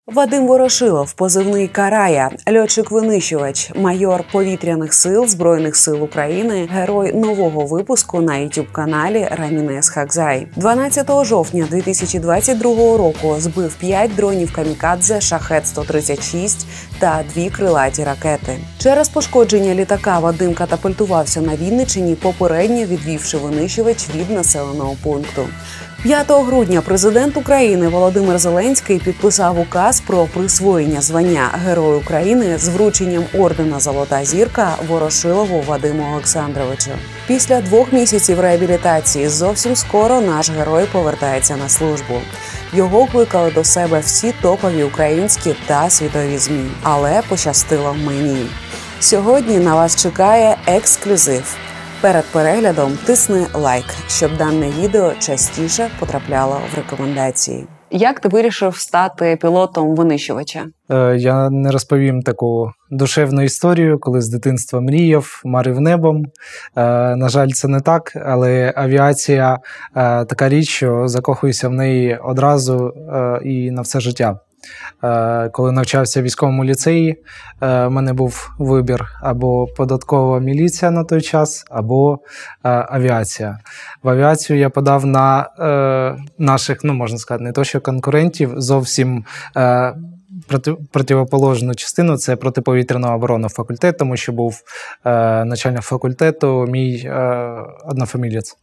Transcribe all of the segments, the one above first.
Вадим Ворошилов, позивний Карая, льотчик-винищувач, майор повітряних сил Збройних сил України, герой нового випуску на YouTube-каналі Рамінес Хакзай. 12 жовтня 2022 року збив 5 дронів камікадзе Шахед-136 та 2 крилаті ракети. Через пошкодження літака Вадим катапультувався на Вінниччині, попередньо відвівши винищувач від населеного пункту. 5 грудня президент України Володимир Зеленський підписав указ про присвоєння звання Герой України з врученням ордена «Золота зірка» Ворошилову Вадиму Олександровичу. Після 2 місяців реабілітації зовсім скоро наш герой повертається на службу. Його кликали до себе всі топові українські та світові ЗМІ. Але пощастило мені. Сьогодні на вас чекає ексклюзив. Перед переглядом тисни лайк, щоб дане відео частіше потрапляло в рекомендації. Як ти вирішив стати пілотом винищувача? Я не розповім таку душевну історію, коли з дитинства мріяв, марив небом. На жаль, це не так, але авіація така річ, що закохуюся в неї одразу і на все життя. Коли навчався в військовому ліцеї, в мене був вибір або податкова міліція на той час, або авіація. В авіацію я подав на наших, можна сказати, не то що конкурентів, зовсім противоположну частину – це протиповітряного оборонного факультету, тому що був начальник факультету мій однофамілець.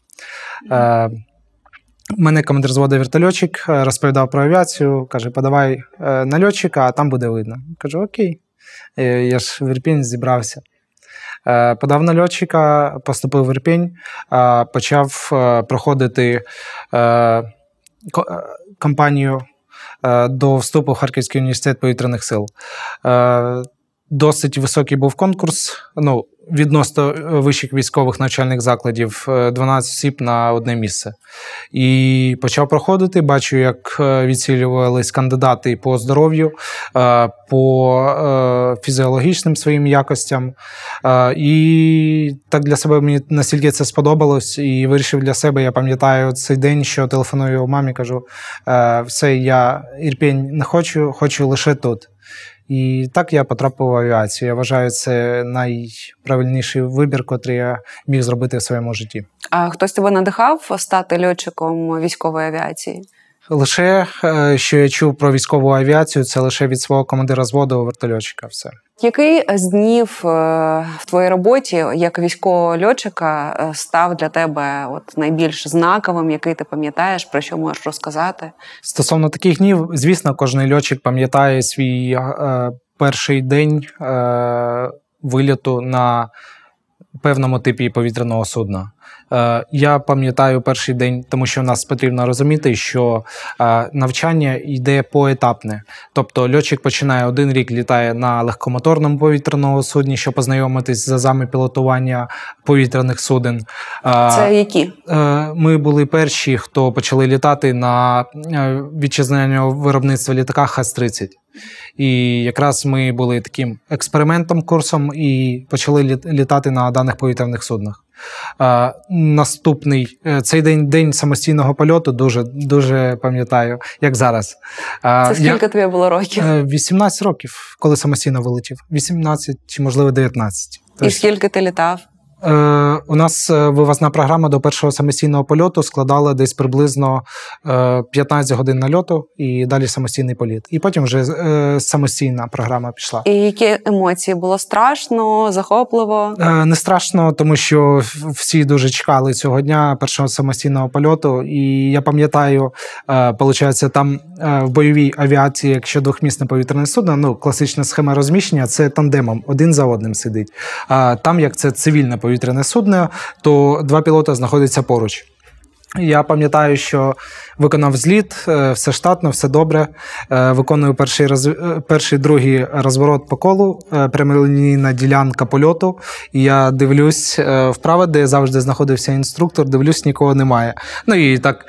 Мене командир взводу вертольотчик розповідав про авіацію, каже, подавай на льотчика, а там буде видно. Кажу, окей, я ж в Ірпінь зібрався. Подав на льотчика, поступив в Ірпінь, почав проходити кампанію до вступу в Харківський університет повітряних сил. Досить високий був конкурс, відносно вищих військових навчальних закладів, 12 осіб на одне місце. І почав проходити, бачу, як відсілювались кандидати по здоров'ю, по фізіологічним своїм якостям. І так для себе мені настільки це сподобалось, і вирішив для себе, я пам'ятаю цей день, що телефоную мамі, кажу, все, я Ірпінь не хочу лише тут. І так я потрапив в авіацію. Я вважаю, це найправильніший вибір, який я міг зробити в своєму житті. А хтось тебе надихав стати льотчиком військової авіації? Лише, що я чув про військову авіацію, це лише від свого командира взводу вертольотчика. Все. Який з днів в твоїй роботі як військового льотчика став для тебе найбільш знаковим, який ти пам'ятаєш, про що можеш розказати? Стосовно таких днів, звісно, кожен льотчик пам'ятає свій перший день вильоту на певному типі повітряного судна. Я пам'ятаю перший день, тому що в нас потрібно розуміти, що навчання йде поетапне. Тобто льотчик починає 1 рік, літає на легкомоторному повітряному судні, щоб познайомитись з азами пілотування повітряних суден. Це які? Ми були перші, хто почали літати на вітчизняного виробництва літака ХАЗ-30. І якраз ми були таким експериментом, курсом і почали літати на даних повітряних суднах. Наступний, цей день самостійного польоту дуже пам'ятаю, як зараз. Це скільки тобі було років? 18 років, коли самостійно вилетів. 18 чи, можливо, 19. І скільки ти літав? У нас вивозна програма до першого самостійного польоту складала десь приблизно 15 годин нальоту і далі самостійний політ. І потім вже самостійна програма пішла. І які емоції? Було страшно, захопливо? Не страшно, тому що всі дуже чекали цього дня, першого самостійного польоту. І я пам'ятаю, виходить, там в бойовій авіації, якщо двохмісне повітряне судно, класична схема розміщення, це тандемом, один за одним сидить. Там, як це цивільне повітряне судно, то 2 пілоти знаходяться поруч. Я пам'ятаю, що виконав зліт, все штатно, все добре. Виконую перший, другий розворот по колу, прямолінійна ділянка польоту. І я дивлюсь вправо, де завжди знаходився інструктор, дивлюсь, нікого немає. І так...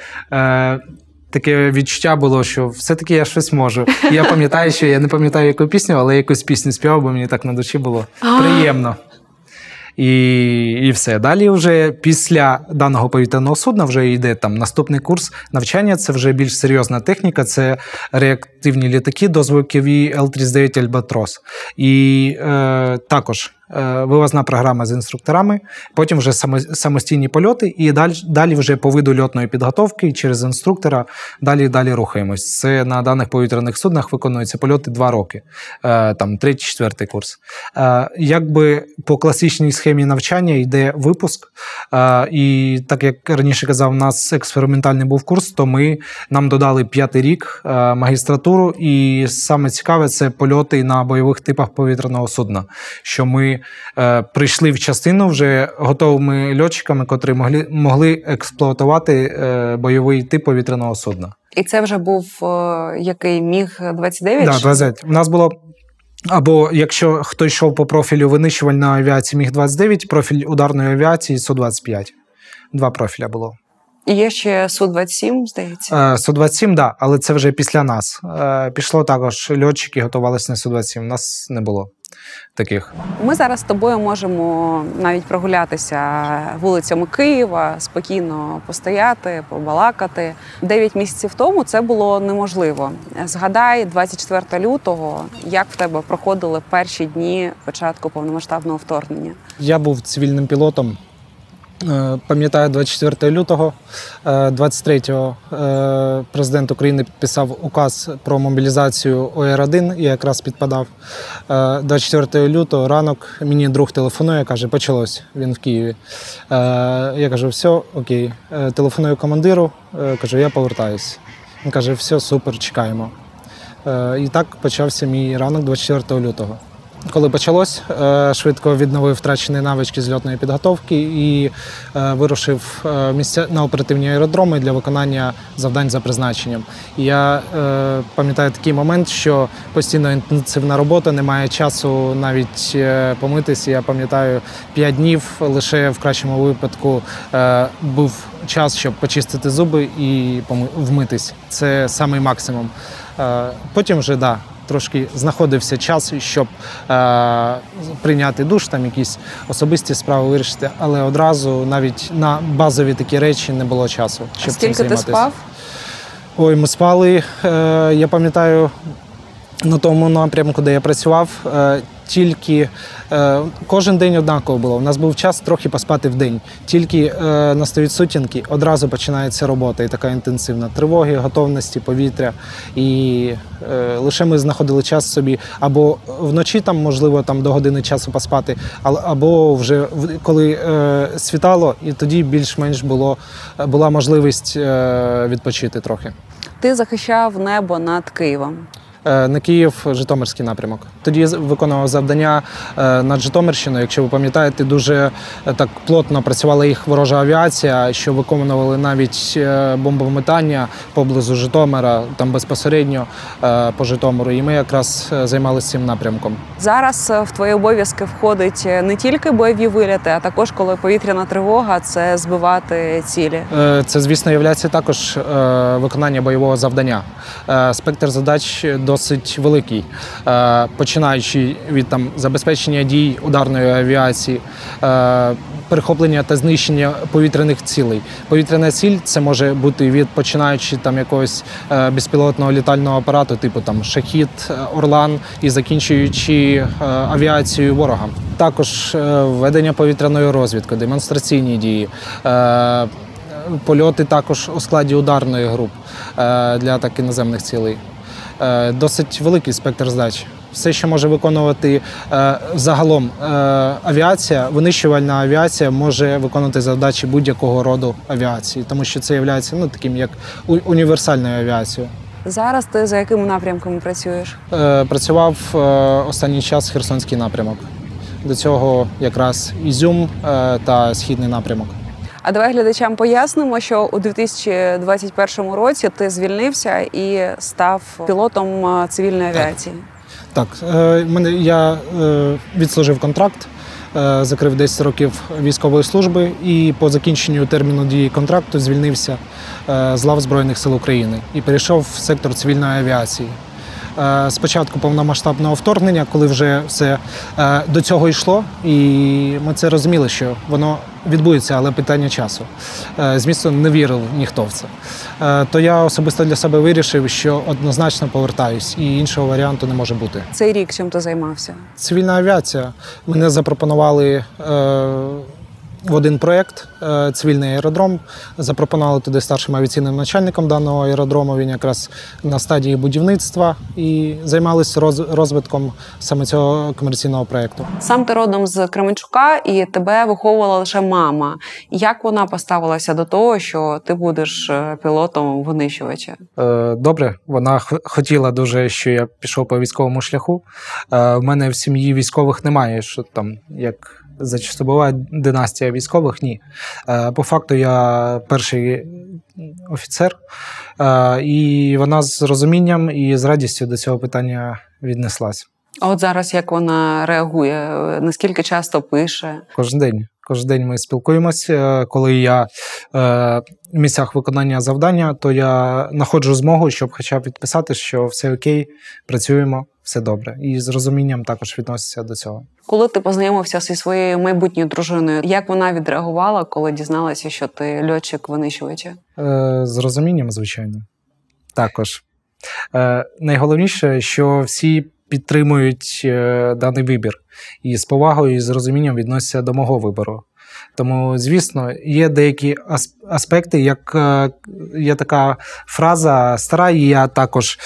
Таке відчуття було, що все-таки я щось можу. І я пам'ятаю, що я не пам'ятаю, яку пісню, але якусь пісню співав, бо мені так на душі було приємно. і все. Далі вже після даного повітряного судна вже йде там наступний курс навчання, це вже більш серйозна техніка, це реактивні літаки, дозвукові Л-39 «Альбатрос». І також вивозна програма з інструкторами, потім вже самостійні польоти, і далі вже по виду льотної підготовки через інструктора далі рухаємось. Це на даних повітряних суднах виконуються польоти 2 роки, там 3-4 курс. Якби по класичній схемі навчання йде випуск, і так як раніше казав, у нас експериментальний був курс, то нам додали 5-й рік магістратуру, і саме цікаве – це польоти на бойових типах повітряного судна, що ми прийшли в частину вже готовими льотчиками, котрі могли експлуатувати бойовий тип повітряного судна. І це вже був який МіГ-29? Так, 29. У нас було, або якщо хто йшов по профілю винищувальної авіації МіГ-29, профіль ударної авіації Су-25. 2 профіля було. І є ще Су-27, здається? Су-27, так, але це вже після нас. Пішло також льотчики, готувалися на Су-27, у нас не було таких. Ми зараз з тобою можемо навіть прогулятися вулицями Києва, спокійно постояти, побалакати. 9 місяців тому це було неможливо. Згадай, 24 лютого, як в тебе проходили перші дні початку повномасштабного вторгнення? Я був цивільним пілотом. Пам'ятаю, 24 лютого, 23-го президент України підписав указ про мобілізацію ОР-1, я якраз підпадав. 24 лютого ранок мені друг телефонує, каже, почалось, він в Києві. Я кажу, все, окей. Телефоную командиру, кажу, я повертаюсь. Він каже, все, супер, чекаємо. І так почався мій ранок 24 лютого. Коли почалось, швидко відновив втрачені навички з льотної підготовки і вирушив на оперативні аеродроми для виконання завдань за призначенням. І я пам'ятаю такий момент, що постійно інтенсивна робота, немає часу навіть помитись. Я пам'ятаю, 5 днів лише в кращому випадку був час, щоб почистити зуби і вмитись. Це самий максимум. Потім вже, так. Трошки знаходився час, щоб прийняти душ, там якісь особисті справи вирішити, але одразу навіть на базові такі речі не було часу, щоб цим займатися. Скільки ти спав? Ой, ми спали, я пам'ятаю, на тому напрямку, де я працював, тільки кожен день однаково було. У нас був час трохи поспати в день. Тільки настають сутінки, одразу починається робота і така інтенсивна. Тривоги, готовності, повітря. І лише ми знаходили час собі або вночі, там, можливо, там, до години часу поспати, або вже коли світало, і тоді більш-менш була можливість відпочити трохи. Ти захищав небо над Києвом. На Київ, Житомирський напрямок. Тоді виконував завдання над Житомирщиною. Якщо ви пам'ятаєте, дуже так плотно працювала їх ворожа авіація, що виконували навіть бомбометання поблизу Житомира, там безпосередньо по Житомиру. І ми якраз займалися цим напрямком. Зараз в твої обов'язки входить не тільки бойові вильоти, а також, коли повітряна тривога, це збивати цілі. Це, звісно, є також виконання бойового завдання. Спектр задач досить великий, починаючи від забезпечення дій ударної авіації, перехоплення та знищення повітряних цілей. Повітряна ціль – це може бути починаючи якогось безпілотного літального апарату, типу «Шахід», «Орлан» і закінчуючи авіацією ворога. Також ведення повітряної розвідки, демонстраційні дії, польоти також у складі ударної груп для атаки наземних цілей. Досить великий спектр задач. Все, що може виконувати загалом авіація, винищувальна авіація може виконувати завдачі будь-якого роду авіації, тому що це є таким як універсальною авіацією. Зараз ти за якими напрямками працюєш? Працював останній час Херсонський напрямок. До цього якраз Ізюм та Східний напрямок. А давай глядачам пояснимо, що у 2021 році ти звільнився і став пілотом цивільної авіації. Так, я відслужив контракт, закрив 10 років військової служби і по закінченню терміну дії контракту звільнився з лав Збройних сил України і перейшов в сектор цивільної авіації. спочатку повномасштабного вторгнення, коли вже все до цього йшло, і ми це розуміли, що воно відбудеться, але питання часу. Звісно, не вірив ніхто в це. То я особисто для себе вирішив, що однозначно повертаюсь, і іншого варіанту не може бути. Цей рік чим ти займався? Цивільна авіація. Мене запропонували в один проєкт цивільний аеродром. Запропонували туди старшим авіаційним начальником даного аеродрому. Він якраз на стадії будівництва і займалися розвитком саме цього комерційного проєкту. Сам ти родом з Кременчука, і тебе виховувала лише мама. Як вона поставилася до того, що ти будеш пілотом винищувача? Добре. Вона хотіла дуже, що я пішов по військовому шляху. В мене в сім'ї військових немає, що там, як зачасту буває, династія військових, ні. По факту я перший офіцер, і вона з розумінням і з радістю до цього питання віднеслась. А от зараз як вона реагує? Наскільки часто пише? Кожен день. Кожен день ми спілкуємося. Коли я в місцях виконання завдання, то я знаходжу змогу, щоб хоча б відписати, що все окей, працюємо, все добре. І з розумінням також відноситься до цього. Коли ти познайомився зі своєю майбутньою дружиною, як вона відреагувала, коли дізналася, що ти льотчик винищувача? З розумінням, звичайно. Також. Найголовніше, що всі підтримують даний вибір і з повагою і з розумінням відносяться до мого вибору. Тому, звісно, є деякі аспекти, як є така фраза стара, і я також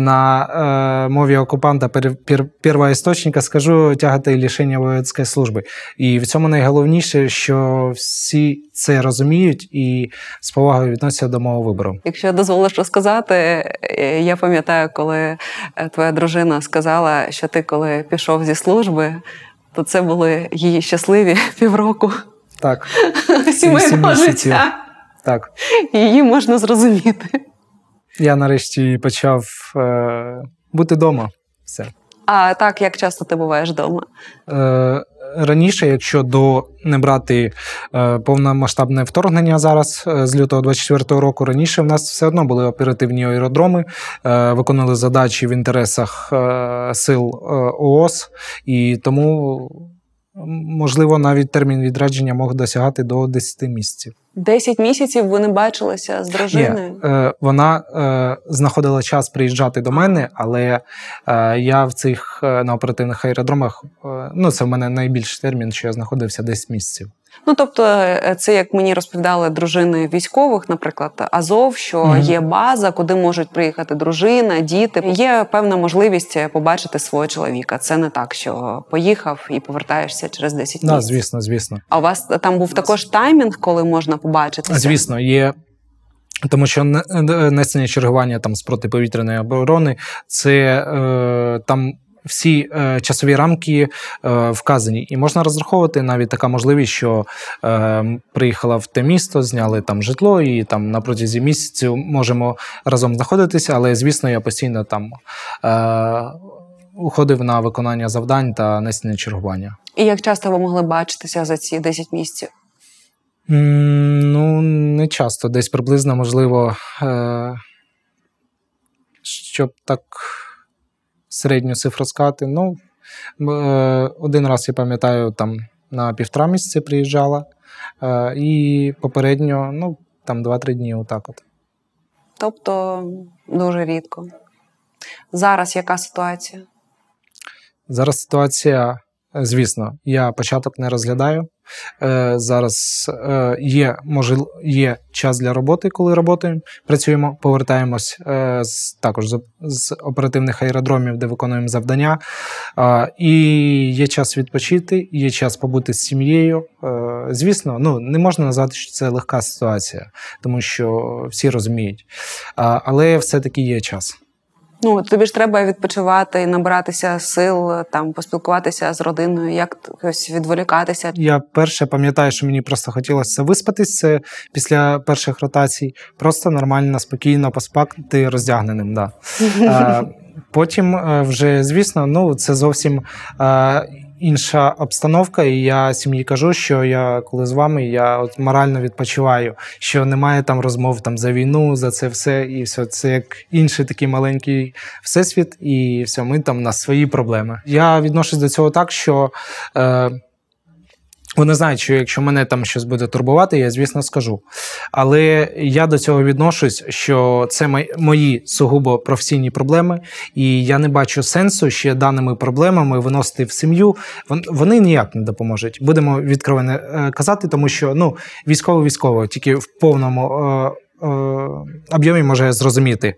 на мові окупанта первого істочника скажу тягати лишення воєнської служби. І в цьому найголовніше, що всі це розуміють і з повагою відносяться до мого вибору. Якщо дозволиш розказати, я пам'ятаю, коли твоя дружина сказала, що ти коли пішов зі служби, то це були її щасливі півроку. Так. Сімейного життя. Так. Її можна зрозуміти. Я нарешті почав бути вдома. Все. А так, як часто ти буваєш вдома? Раніше, якщо не брати повномасштабне вторгнення зараз, з лютого 24-го року, раніше в нас все одно були оперативні аеродроми, виконували задачі в інтересах сил ООС, і тому, можливо, навіть термін відрядження мог досягати до 10 місяців. 10 місяців ви не бачилися з дружиною? Ні, вона знаходила час приїжджати до мене, але я в цих на оперативних аеродромах, це в мене найбільший термін, що я знаходився 10 місяців. Тобто це, як мені розповідали дружини військових, наприклад, Азов, що є база, куди можуть приїхати дружина, діти. Є певна можливість побачити свого чоловіка. Це не так, що поїхав і повертаєшся через 10 місяців. Так, звісно. А у вас там був також таймінг, коли можна побачитися? Звісно, є. Тому що несення чергування там з протиповітряної оборони, це там всі часові рамки вказані. І можна розраховувати навіть така можливість, що приїхала в те місто, зняли там житло і там на протязі місяців можемо разом знаходитися, але, звісно, я постійно там уходив на виконання завдань та несення чергування. І як часто ви могли бачитися за ці 10 місяців? Не часто. Десь приблизно, можливо, щоб так середню цифру сказати. Один раз, я пам'ятаю, там на 1,5 місяці приїжджала, і попередньо, там 2-3 дні, отак от. Тобто дуже рідко. Зараз яка ситуація? Зараз ситуація, звісно, я початок не розглядаю. Зараз є час для роботи, коли працюємо, повертаємось також з оперативних аеродромів, де виконуємо завдання. І є час відпочити, є час побути з сім'єю. Звісно, не можна назвати, що це легка ситуація, тому що всі розуміють. Але все-таки є час. Тобі ж треба відпочивати і набиратися сил, там, поспілкуватися з родиною, якось відволікатися. Я перше пам'ятаю, що мені просто хотілося виспатися після перших ротацій. Просто нормально, спокійно поспати роздягненим, да. Потім вже, звісно, це зовсім інша обстановка, і я сім'ї кажу, що я, коли з вами, я от морально відпочиваю, що немає там розмов там за війну, за це все, і все, це як інший такий маленький всесвіт, і все, ми там, у нас свої проблеми. Я відношусь до цього так, що вони знають, що якщо мене там щось буде турбувати, я, звісно, скажу. Але я до цього відношусь, що це мої сугубо професійні проблеми, і я не бачу сенсу ще даними проблемами виносити в сім'ю. Вони ніяк не допоможуть. Будемо відкровенно казати, тому що військово тільки в повному об'ємі може зрозуміти.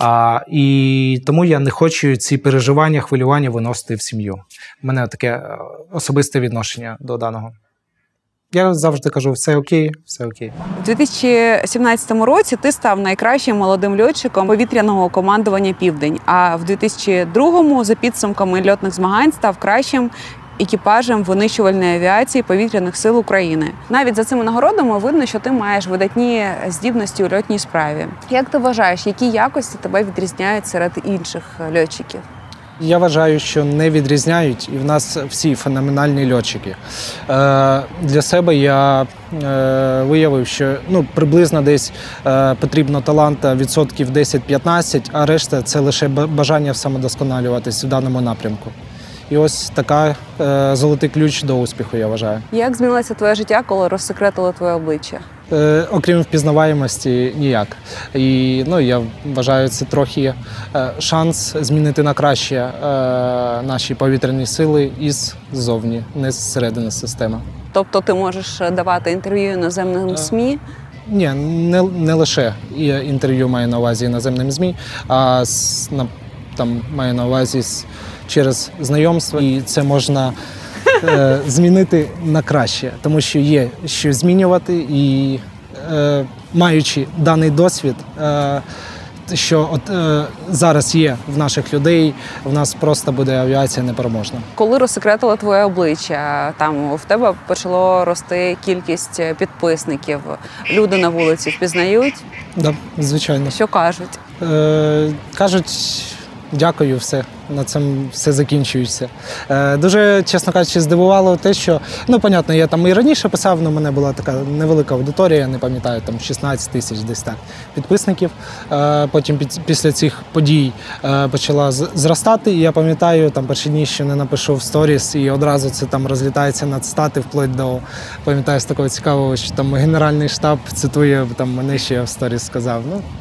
І тому я не хочу ці переживання, хвилювання виносити в сім'ю. У мене таке особисте відношення до даного. Я завжди кажу, все окей, все окей. У 2017 році ти став найкращим молодим льотчиком повітряного командування «Південь», а в 2002-му за підсумками льотних змагань став кращим екіпажем винищувальної авіації Повітряних сил України. Навіть за цими нагородами видно, що ти маєш видатні здібності у льотній справі. Як ти вважаєш, які якості тебе відрізняють серед інших льотчиків? Я вважаю, що не відрізняють, і в нас всі феноменальні льотчики. Для себе я виявив, що приблизно десь потрібно таланта відсотків 10-15, а решта – це лише бажання самодосконалюватись в даному напрямку. І ось така золотий ключ до успіху, я вважаю. Як змінилося твоє життя, коли розсекретили твоє обличчя? Окрім впізнаваємості, ніяк. І я вважаю, це трохи шанс змінити на краще наші повітряні сили іззовні, не зсередини системи. Тобто ти можеш давати інтерв'ю іноземним ЗМІ? Ні, не лише інтерв'ю маю на увазі іноземним ЗМІ, а маю на увазі через знайомство. І це можна змінити на краще, тому що є що змінювати, і маючи даний досвід, що зараз є в наших людей, в нас просто буде авіація непереможна. Коли розсекретили твоє обличчя, там в тебе почало рости кількість підписників, люди на вулиці впізнають? Так, звичайно. Що кажуть? Кажуть, дякую, все. На цьому все закінчується. Дуже, чесно кажучи, здивувало те, що, понятно, я там і раніше писав, але в мене була така невелика аудиторія, я не пам'ятаю, там 16 тисяч десь так підписників. Потім після цих подій почала зростати, і я пам'ятаю, там перші дні ще не напишу в сторіс, і одразу це там розлітається над стати, вплоть до, пам'ятаю, з такого цікавого, що там Генеральний штаб цитує, там мене ще в сторіс сказав.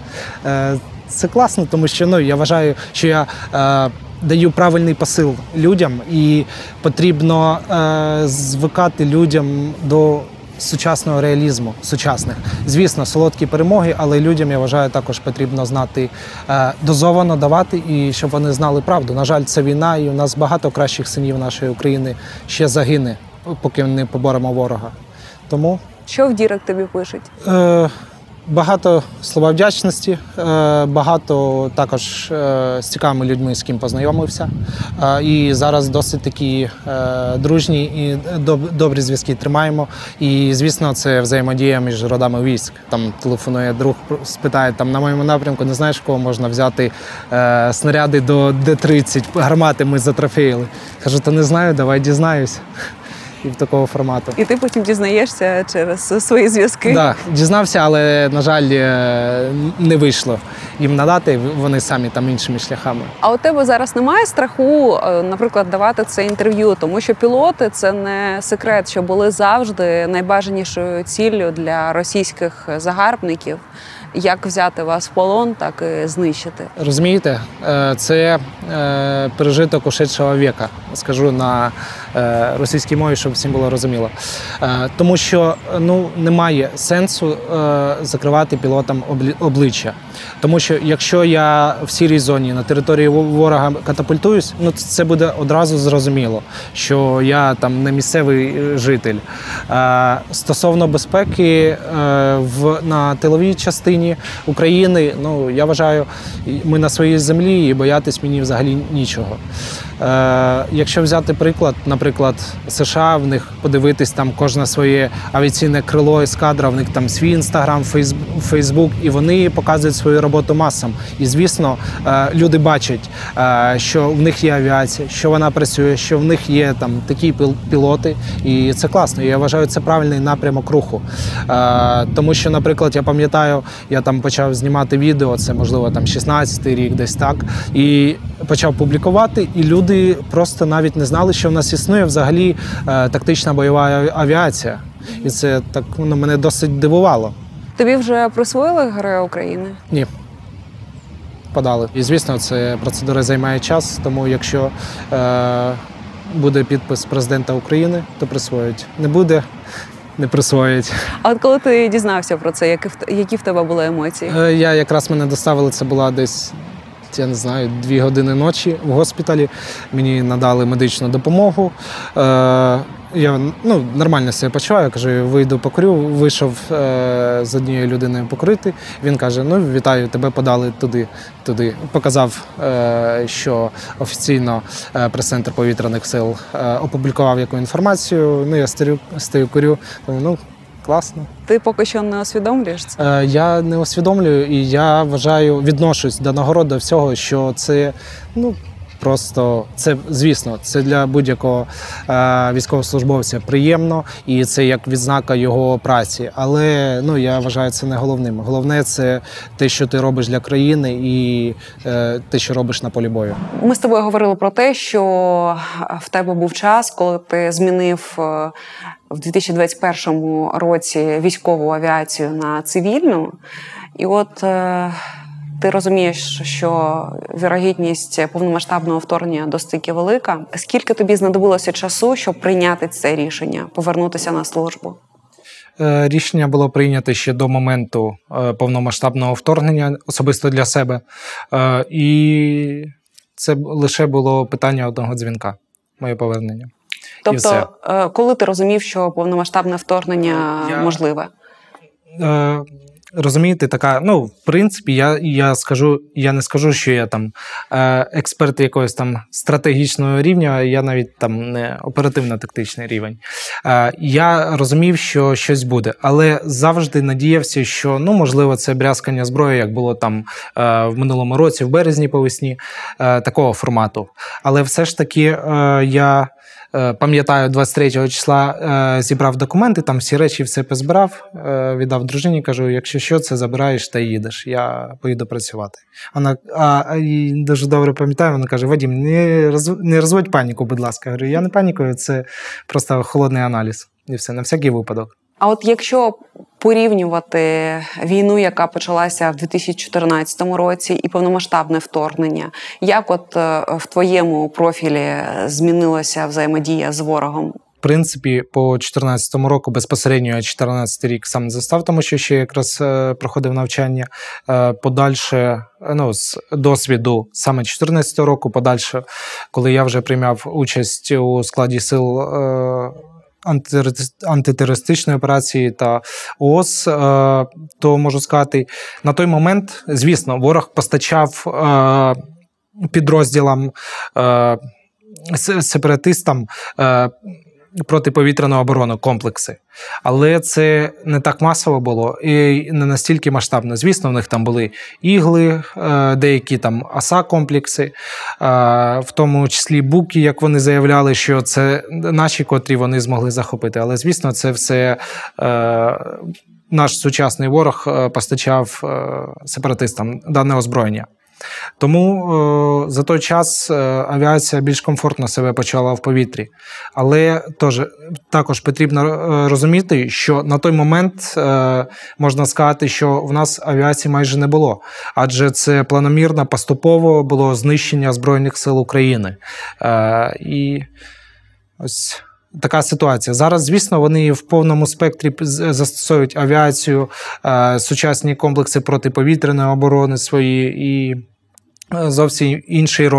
Це класно, тому що я вважаю, що я даю правильний посил людям, і потрібно звикати людям до сучасного реалізму, сучасних. Звісно, солодкі перемоги, але людям, я вважаю, також потрібно знати, дозовано давати, і щоб вони знали правду. На жаль, це війна, і у нас багато кращих синів нашої України ще загине, поки не поборемо ворога. Тому... Що в дірек тобі пишуть? Багато слова вдячності, багато також з цікавими людьми, з ким познайомився. І зараз досить такі дружні і добрі зв'язки тримаємо. І, звісно, це взаємодія між родами військ. Там телефонує друг, спитає, там на моєму напрямку не знаєш, кого можна взяти снаряди до Д-30, гармати ми затрофеїли. Кажу, то не знаю, давай дізнаюсь. І в такого формату. І ти потім дізнаєшся через свої зв'язки? Так, дізнався, але, на жаль, не вийшло їм надати, вони самі там іншими шляхами. А у тебе зараз немає страху, наприклад, давати це інтерв'ю? Тому що пілоти – це не секрет, що були завжди найбажанішою ціллю для російських загарбників. Як взяти вас в полон, так і знищити. Розумієте, це пережиток ушедшого віка, скажу на російській мові, щоб всім було розуміло. Тому що немає сенсу закривати пілотам обличчя. Тому що якщо я в сірій зоні на території ворога катапультуюсь, це буде одразу зрозуміло, що я там не місцевий житель. Стосовно безпеки на тиловій частині України, я вважаю, ми на своїй землі і боятись мені взагалі нічого. якщо взяти приклад, наприклад, США, в них подивитись там кожне своє авіаційне крило ескадра, в них там свій Інстаграм, Фейсбук, і вони показують свою роботу масам. І, звісно, люди бачать, що в них є авіація, що вона працює, що в них є там такі пілоти, і це класно. І я вважаю, це правильний напрямок руху. Тому що, наприклад, я пам'ятаю, я там почав знімати відео, це, можливо, там 16-й рік, десь так, і почав публікувати, і люди просто навіть не знали, що в нас існує взагалі тактична бойова авіація. І це так мене досить дивувало. Тобі вже присвоїли Героя України? Ні. Подали. І, звісно, це процедура займає час, тому якщо буде підпис президента України, то присвоять. Не буде, не присвоять. А от коли ти дізнався про це, які в тебе були емоції? Мене доставили, це була десь, я не знаю, 2 години ночі в госпіталі. Мені надали медичну допомогу. Я нормально себе почуваю, я кажу, вийду покурю, вийшов з однією людиною покурити. Він каже, вітаю, тебе подали туди. Показав, що офіційно прес-центр повітряних сил опублікував яку інформацію. Я стою, курю, класно. Ти поки що не усвідомлюєш це? Я не усвідомлюю, і я вважаю, відношусь до нагород, до всього, що це, просто, це, звісно, це для будь-якого військовослужбовця приємно, і це як відзнака його праці. Але, я вважаю, це не головним. Головне – це те, що ти робиш для країни і те, що робиш на полі бою. Ми з тобою говорили про те, що в тебе був час, коли ти змінив в 2021 році військову авіацію на цивільну. І от ти розумієш, що вірогідність повномасштабного вторгнення досить велика. Скільки тобі знадобилося часу, щоб прийняти це рішення, повернутися на службу? Рішення було прийнято ще до моменту повномасштабного вторгнення, особисто для себе. І це лише було питання одного дзвінка, моє повернення. Тобто, коли ти розумів, що повномасштабне вторгнення можливе? Розумієте, така, в принципі, я не скажу, що я там експерт якогось там стратегічного рівня, я навіть там не оперативно-тактичний рівень. Я розумів, що щось буде, але завжди надіявся, що, можливо, це брязкання зброї, як було там в минулому році, в березні по весні, такого формату. Але все ж таки я пам'ятаю, 23 числа зібрав документи, там всі речі все позбирав, віддав дружині, кажу, якщо що, це забираєш та їдеш, я поїду працювати. Вона дуже добре пам'ятаю, вона каже, Вадим, не розводь паніку, будь ласка. Я говорю, я не панікую, це просто холодний аналіз. І все, на всякий випадок. А от якщо порівнювати війну, яка почалася в 2014 році, і повномасштабне вторгнення, як от в твоєму профілі змінилася взаємодія з ворогом? В принципі, по 2014 року, безпосередньо я 2014 рік сам не застав, тому що ще якраз проходив навчання. Подальше, з досвіду саме 2014 року, подальше, коли я вже приймав участь у складі сил антитерористичної операції та ООС, то можу сказати, на той момент, звісно, ворог постачав підрозділам, сепаратистам протиповітряну оборону, комплекси. Але це не так масово було і не настільки масштабно. Звісно, в них там були ігли, деякі там АСА-комплекси, в тому числі буки, як вони заявляли, що це наші, котрі вони змогли захопити. Але, звісно, це все наш сучасний ворог постачав сепаратистам дане озброєння. Тому за той час авіація більш комфортно себе почала в повітрі. Але також потрібно розуміти, що на той момент можна сказати, що в нас авіації майже не було. Адже це планомірно, поступово було знищення Збройних сил України. І ось така ситуація. Зараз, звісно, вони в повному спектрі застосовують авіацію, сучасні комплекси протиповітряної оборони свої і зовсім інший розмах.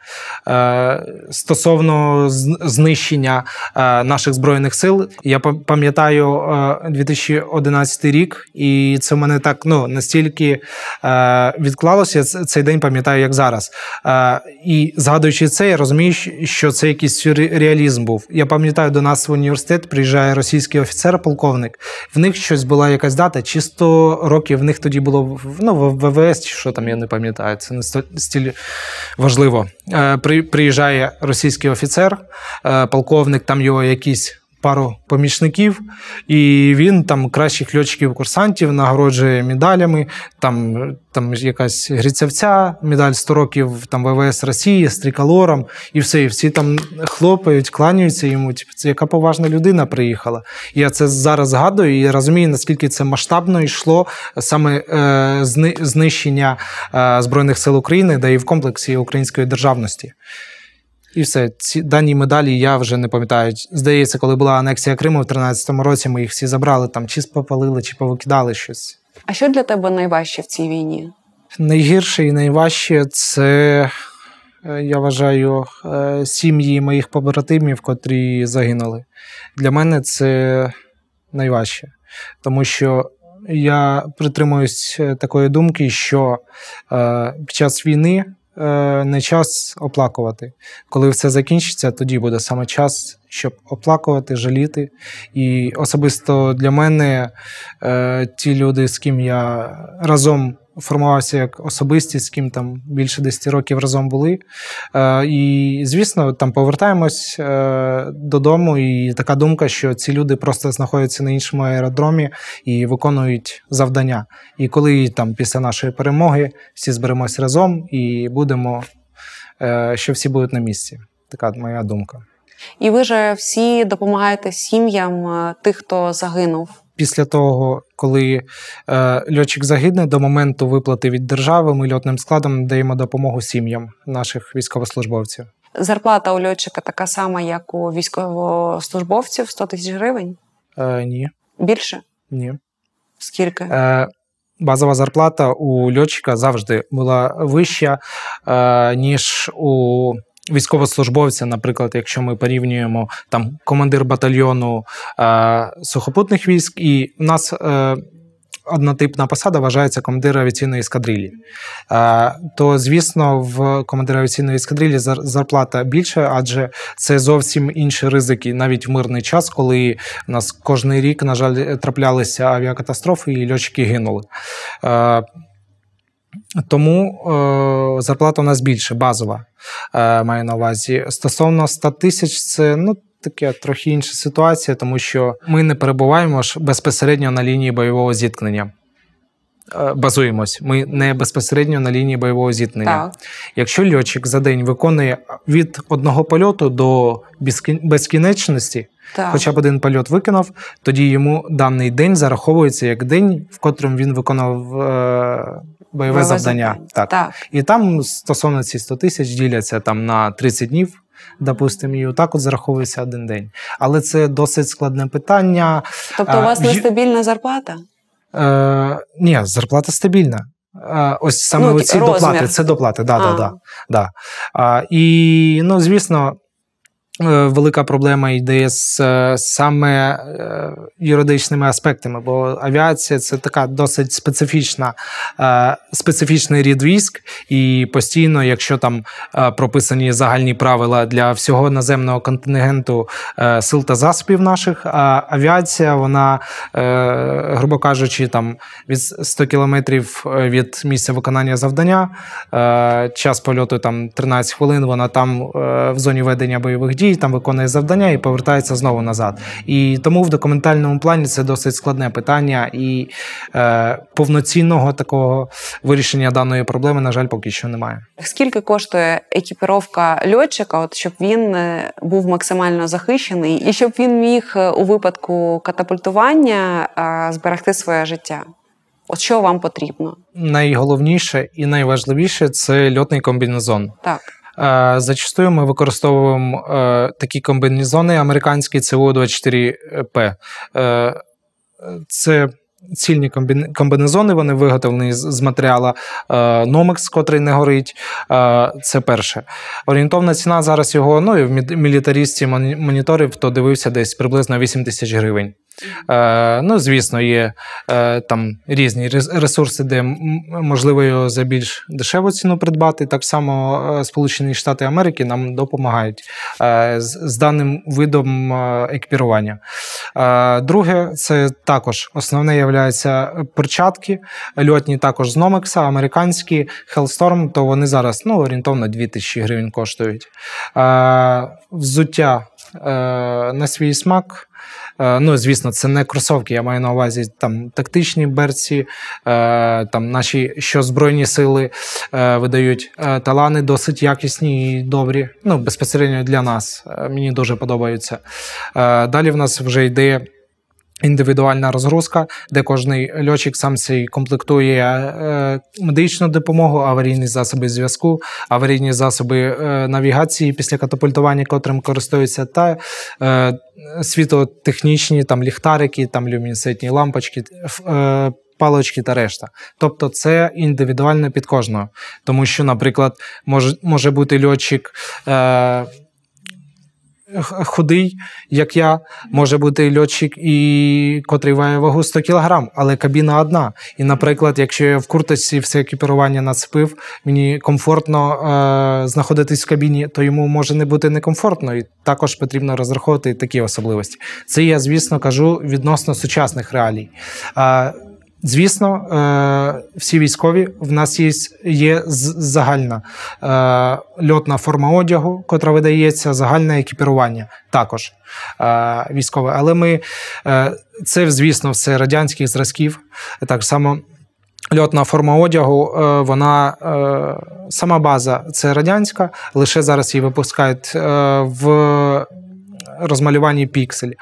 Стосовно знищення наших Збройних сил, я пам'ятаю 2011 рік, і це в мене так настільки відклалося, цей день пам'ятаю, як зараз. І згадуючи це, я розумію, що це якийсь сюрреалізм був. Я пам'ятаю, до нас в університет приїжджає російський офіцер, полковник. В них щось була якась дата, чи 100 років в них тоді було в ВВС, чи що там, я не пам'ятаю, це не стільки важливо. Приїжджає російський офіцер, полковник, там його якісь пару помічників, і він там кращих льотчиків-курсантів нагороджує медалями, там якась Грицевця, медаль 100 років там ВВС Росії з триколором, і все, і всі там хлопають, кланяються йому, це яка поважна людина приїхала. І я це зараз згадую і розумію, наскільки це масштабно йшло саме знищення Збройних сил України, да і в комплексі української державності. І все, ці дані медалі я вже не пам'ятаю. Здається, коли була анексія Криму в 13-му році, ми їх всі забрали, там чи спопалили, чи повикидали щось. А що для тебе найважче в цій війні? Найгірше і найважче – це, я вважаю, сім'ї моїх побратимів, котрі загинули. Для мене це найважче, тому що я притримуюсь такої думки, що під час війни не час оплакувати. Коли все закінчиться, тоді буде саме час, щоб оплакувати, жаліти. І особисто для мене ті люди, з ким я разом формувався як особистість, з ким там більше 10 років разом були. І, звісно, там повертаємось додому, і така думка, що ці люди просто знаходяться на іншому аеродромі і виконують завдання. І коли там після нашої перемоги всі зберемось разом і будемо, що всі будуть на місці. Така моя думка. І ви же всі допомагаєте сім'ям тих, хто загинув? Після того, коли льотчик загине, до моменту виплати від держави, ми льотним складом даємо допомогу сім'ям наших військовослужбовців. Зарплата у льотчика така сама, як у військовослужбовців? 100 тисяч гривень? Ні. Більше? Ні. Скільки? Базова зарплата у льотчика завжди була вища, ніж у військовослужбовця, наприклад, якщо ми порівнюємо там командир батальйону сухопутних військ, і в нас однотипна посада вважається командир авіаційної ескадрилі. То, звісно, в командира авіаційної ескадрилі зарплата більша, адже це зовсім інші ризики, навіть в мирний час, коли у нас кожен рік, на жаль, траплялися авіакатастрофи і льотчики гинули. Тому зарплата у нас більше, базова, маю на увазі. Стосовно 100 тисяч, це таке трохи інша ситуація, тому що ми не перебуваємо ж безпосередньо на лінії бойового зіткнення. Базуємось. Ми не безпосередньо на лінії бойового зіткнення. Так. Якщо льотчик за день виконує від одного польоту до безкінечності, хоча б один польот виконав, тоді йому даний день зараховується як день, в котрому він виконав бойове завдання. Так. І там стосовно ці 100 тисяч діляться там на 30 днів, допустимо, і отак от зараховується один день. Але це досить складне питання. Тобто у вас нестабільна зарплата? Ні, зарплата стабільна. Ось саме ці доплати, це доплати, да. І, звісно, велика проблема йде з саме юридичними аспектами, бо авіація – це така досить специфічний рід військ, і постійно, якщо там прописані загальні правила для всього наземного контингенту сил та засобів наших, авіація, вона, грубо кажучи, там від 100 кілометрів від місця виконання завдання, час польоту там 13 хвилин, вона там в зоні ведення бойових дій, там виконує завдання і повертається знову назад. І тому в документальному плані це досить складне питання, і повноцінного такого вирішення даної проблеми, на жаль, поки що немає. Скільки коштує екіпіровка льотчика, щоб він був максимально захищений і щоб він міг у випадку катапультування зберегти своє життя? От що вам потрібно? Найголовніше і найважливіше – це льотний комбінезон. Так. Зачастую ми використовуємо такі комбінезони американські ЦУ-24П. Це цільні комбінезони, вони виготовлені з матеріалу Nomex, котрий не горить. Це перше. Орієнтовна ціна зараз його, ну і в мілітаристі моніторів, хто дивився, десь приблизно 8 тисяч гривень. Ну, звісно, є там різні ресурси, де можливо його за більш дешеву ціну придбати. Так само Сполучені Штати Америки нам допомагають з даним видом екіпірування. Друге, це також основне являється перчатки, льотні також з Nomex, американські Hellstorm, то вони зараз орієнтовно 2000 гривень коштують. Взуття на свій смак. Ну, звісно, це не кросовки, я маю на увазі там тактичні берці, там наші Збройні сили видають талани досить якісні і добрі, ну, безпосередньо для нас, мені дуже подобаються. Далі в нас вже йде індивідуальна розгрузка, де кожний льотчик сам собі комплектує медичну допомогу, аварійні засоби зв'язку, аварійні засоби навігації після катапультування, котрим користуються, та світлотехнічні, там ліхтарики, там люмінесцентні лампочки, палички та решта. Тобто це індивідуально під кожного. Тому що, наприклад, може бути льотчик худий, як я, може бути льотчик, котрий має вагу 100 кг, але кабіна одна. І, наприклад, якщо я в курточці все екіпірування нацепив, мені комфортно знаходитись в кабіні, то йому може не бути некомфортно, і також потрібно розраховувати такі особливості. Це я, звісно, кажу відносно сучасних реалій. Звісно, всі військові, в нас є загальна льотна форма одягу, котра видається, загальне екіпірування також військове. Але це, звісно, все радянських зразків. Так само льотна форма одягу, вона, сама база це радянська, лише зараз її випускають в розмалюванні піксель.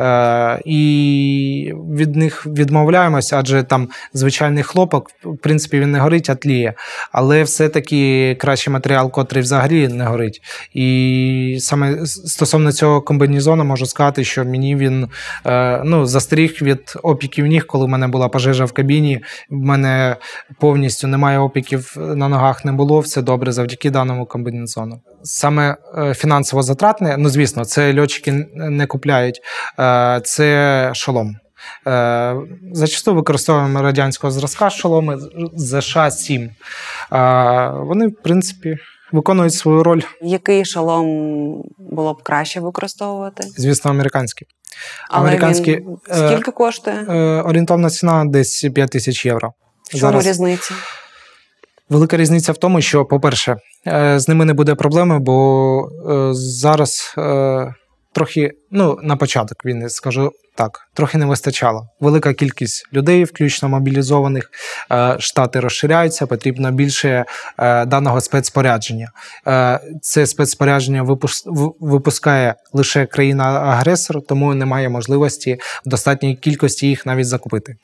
І від них відмовляємося, адже там звичайний хлопок, в принципі, він не горить, а тліє. Але все-таки кращий матеріал, котрий взагалі не горить. І саме стосовно цього комбінезону можу сказати, що мені він застеріг від опіків ніг, коли в мене була пожежа в кабіні. В мене повністю немає опіків на ногах, не було. Все добре завдяки даному комбінезону. Саме фінансово затратне, звісно, це льотчики не купляють, це шолом. Зачасту використовуємо радянського зразка шоломи ЗШ-7. Вони, в принципі, виконують свою роль. Який шолом було б краще використовувати? Звісно, американський. Але він скільки коштує? Орієнтовна ціна десь 5000 євро. В чому різниця? Велика різниця в тому, що, по-перше, з ними не буде проблеми, бо зараз трохи, на початок війни, скажу так, трохи не вистачало. Велика кількість людей, включно мобілізованих, штати розширяються, потрібно більше даного спецспорядження. Це спецспорядження випускає лише країна-агресор, тому немає можливості в достатній кількості їх навіть закупити.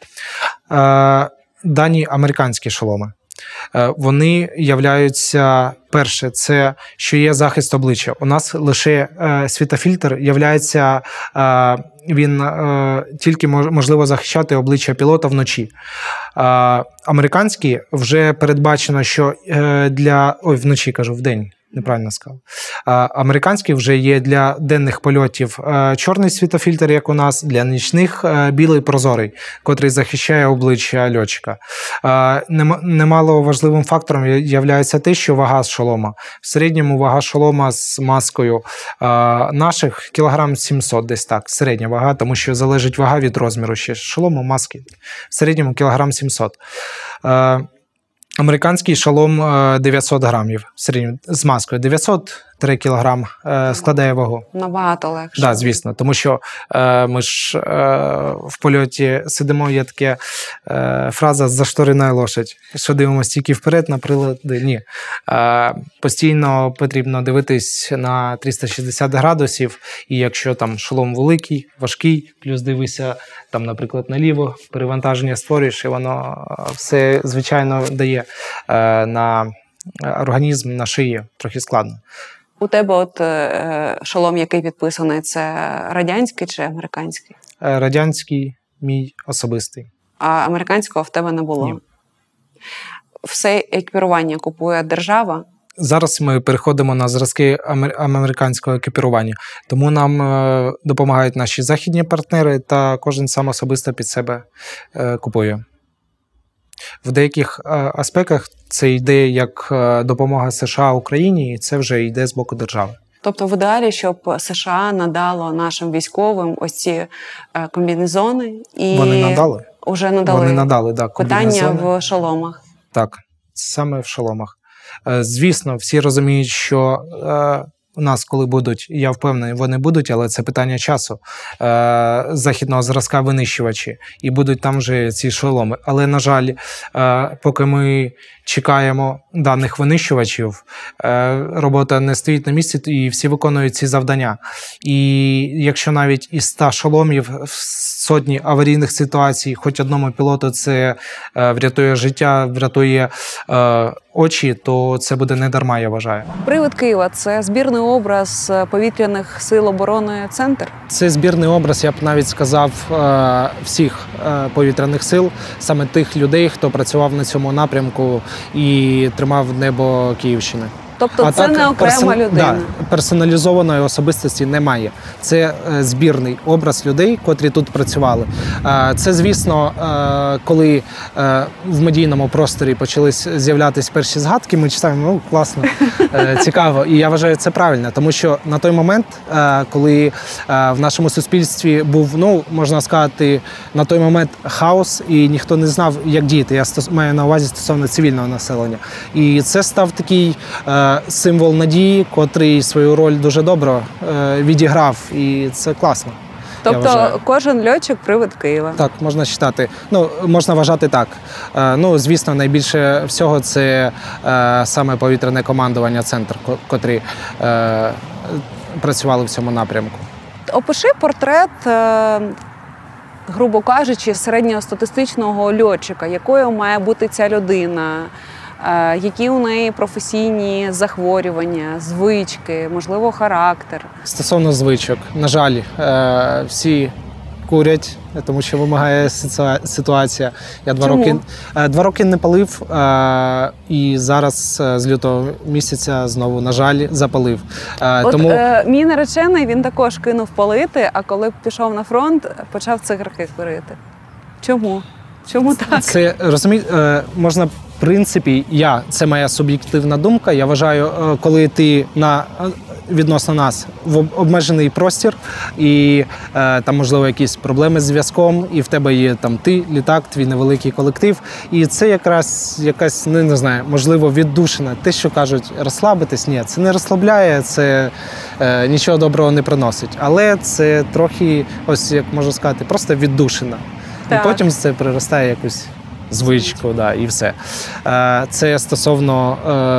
Дані американські шоломи. Вони являються, перше, це що є захист обличчя. У нас лише світофільтр являється, він тільки можливо захищати обличчя пілота вночі. Американські вже передбачено, що вночі кажу, вдень. Неправильно сказав. Американський вже є для денних польотів чорний світофільтр, як у нас, для нічних білий прозорий, котрий захищає обличчя льотчика. Немало важливим фактором є те, що вага шолома. В середньому вага шолома з маскою наших кілограм 700 десь так, середня вага, тому що залежить вага від розміру ще шолому, маски. В середньому кілограм 700. Американський шолом 900 грамів в середньому, з маскою. 903 кілограм складає вагу. Набагато легше. Так, звісно, тому що ми ж в польоті сидимо, є така фраза «зашторена лошадь», що дивимося тільки вперед на прилади. Ні. Постійно потрібно дивитись на 360 градусів, і якщо там шолом великий, важкий, плюс дивися там, наприклад, наліво, перевантаження створюєш, і воно все, звичайно, дає на організм, на шию. Трохи складно. У тебе шолом, який підписаний, це радянський чи американський? Радянський, мій особистий. а американського в тебе не було. Ні. Все екіпірування купує держава? Зараз ми переходимо на зразки американського екіпірування, тому нам допомагають наші західні партнери, та кожен сам особисто під себе купує. В деяких аспектах це йде як допомога США Україні, і це вже йде з боку держави. Тобто в ідеалі, щоб США надало нашим військовим ось ці комбінезони. І вони надали? Уже надали. Вони надали, так. Питання в шоломах. Так, саме в шоломах. Звісно, всі розуміють, що у нас, коли будуть, я впевнений, вони будуть, але це питання часу, західного зразка винищувачі, і будуть там вже ці шоломи. Але, на жаль, поки ми чекаємо даних винищувачів, робота не стоїть на місці, і всі виконують ці завдання. І якщо навіть із 100 шоломів в сотні аварійних ситуацій, хоч одному пілоту це врятує життя, врятує очі, то це буде не дарма, я вважаю. Привид Києва – це збірний образ повітряних сил оборони «Центр»? Це збірний образ, я б навіть сказав, всіх повітряних сил, саме тих людей, хто працював на цьому напрямку і тримав небо Київщини. Тобто це не окрема людина? Да, персоналізованої особистості немає. Це збірний образ людей, котрі тут працювали. Це, звісно, коли в медійному просторі почали з'являтися перші згадки, ми читаємо, ну, класно, цікаво. І я вважаю, це правильно, тому що на той момент, коли в нашому суспільстві був, ну, можна сказати, на той момент хаос, і ніхто не знав, як діяти. Я маю на увазі стосовно цивільного населення. І це став такий символ надії, котрий свою роль дуже добре відіграв, і це класно. Тобто кожен льотчик – привид Києва? Так, можна вважати. Ну, можна вважати так. Ну, звісно, найбільше всього це саме повітряне командування «Центр», котрі працювали в цьому напрямку. Опиши портрет, грубо кажучи, середньостатистичного льотчика. Якою має бути ця людина? Які у неї професійні захворювання, звички, можливо, характер? Стосовно звичок, на жаль, всі курять, тому що вимагає ситуація. Я 2 роки не палив, і зараз з лютого місяця знову, на жаль, запалив. Тому... Мій наречений, він також кинув палити, а коли пішов на фронт, почав цигарки курити. Чому? Чому так? Це, можна... В принципі, це моя суб'єктивна думка. Я вважаю, коли ти відносно нас в обмежений простір, і там, можливо, якісь проблеми з зв'язком, і в тебе є там ти, літак, твій невеликий колектив. І це якраз якась, не знаю, можливо, віддушина. Те, що кажуть, розслабитись, ні, це не розслабляє, це нічого доброго не приносить. Але це трохи, ось як можу сказати, просто віддушина. Так. І потім це приростає якусь звичку, да, і все. Це стосовно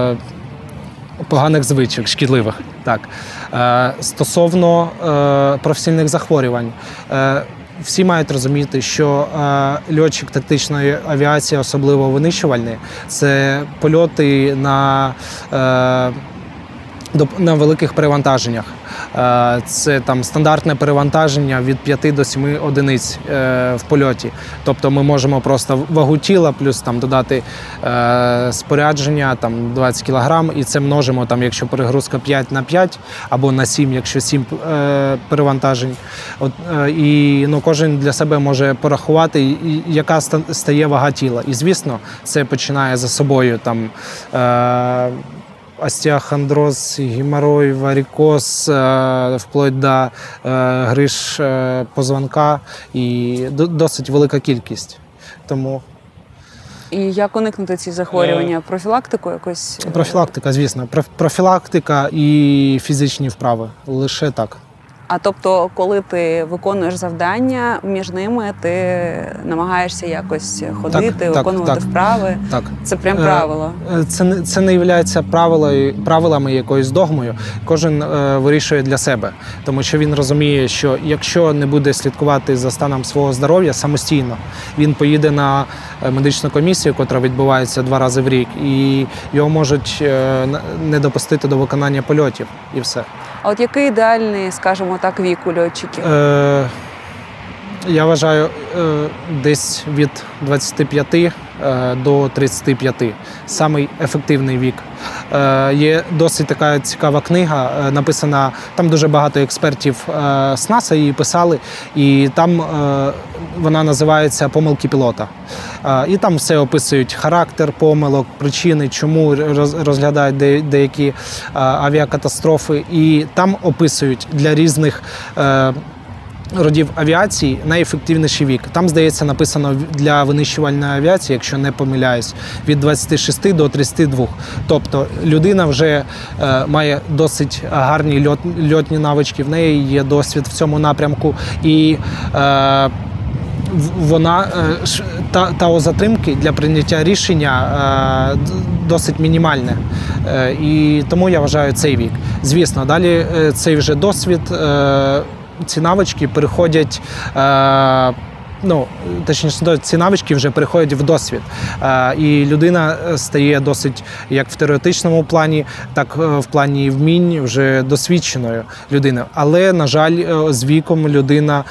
поганих звичок, шкідливих. Так. Стосовно професійних захворювань. Всі мають розуміти, що льотчик тактичної авіації, особливо винищувальний, це польоти на великих перевантаженнях. Це там стандартне перевантаження від 5 до 7 одиниць в польоті. Тобто ми можемо просто вагу тіла плюс там додати спорядження, там 20 кг, і це множимо, там, якщо перегрузка 5 на 5 або на 7, якщо 7 перевантажень. І кожен для себе може порахувати, яка стає вага тіла. І, звісно, це починає за собою там остеохондроз, геморрой, варикоз, вплоть до гриж позвонка, і досить велика кількість. Тому... І як уникнути ці захворювання? Профілактику якось? Профілактика, звісно. Профілактика і фізичні вправи. Лише так. А тобто, коли ти виконуєш завдання, між ними ти намагаєшся якось ходити, виконувати вправи? Так. Це прям правило? Це не є правилами якоюсь догмою. Кожен вирішує для себе. Тому що він розуміє, що якщо не буде слідкувати за станом свого здоров'я самостійно, він поїде на медичну комісію, яка відбувається 2 рази в рік, і його можуть не допустити до виконання польотів, і все. А от який ідеальний, скажімо так, вік у льотчиків? Я вважаю, десь від 25 до 35. Самий ефективний вік. Є досить така цікава книга, написана, там дуже багато експертів з НАСА її писали, і там вона називається «Помилки пілота». І там все описують: характер помилок, причини, чому розглядають деякі авіакатастрофи. І там описують для різних родів авіації найефективніший вік. Там, здається, написано для винищувальної авіації, якщо не помиляюсь, від 26 до 32. Тобто людина вже має досить гарні льотні навички, в неї є досвід в цьому напрямку. І вона та затримки для прийняття рішення досить мінімальне. І тому я вважаю цей вік. Звісно, далі цей вже досвід, ці навички переходять, точніше, ці навички вже переходять в досвід. І людина стає досить, як в теоретичному плані, так в плані вмінь, вже досвідченою людиною. Але, на жаль, з віком людина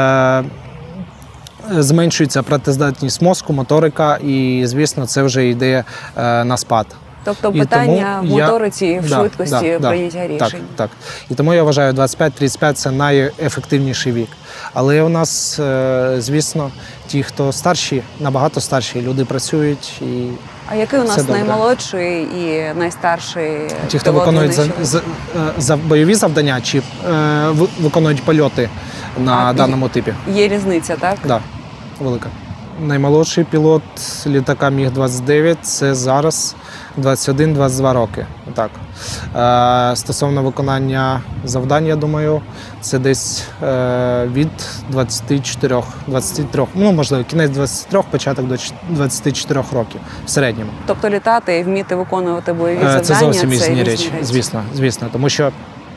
зменшується працездатність мозку, моторика, і, звісно, це вже йде на спад. Тобто питання в моториці, в швидкості прийняття рішень. Так. І тому я вважаю, 25-35 – це найефективніший вік. Але у нас, звісно, ті, хто старші, набагато старші, люди працюють. І а який у нас наймолодший і найстарший? Ті, хто виконують бойові завдання чи виконують польоти на даному типі. Є різниця, так? Так, велика. Наймолодший пілот літака Міг-29 – це зараз 21-22 роки. Так. Стосовно виконання завдань, я думаю, це десь від 23, можливо, кінець 23, початок до 24 років в середньому. Тобто літати і вміти виконувати бойові завдання – це зовсім різні речі, звісно, тому що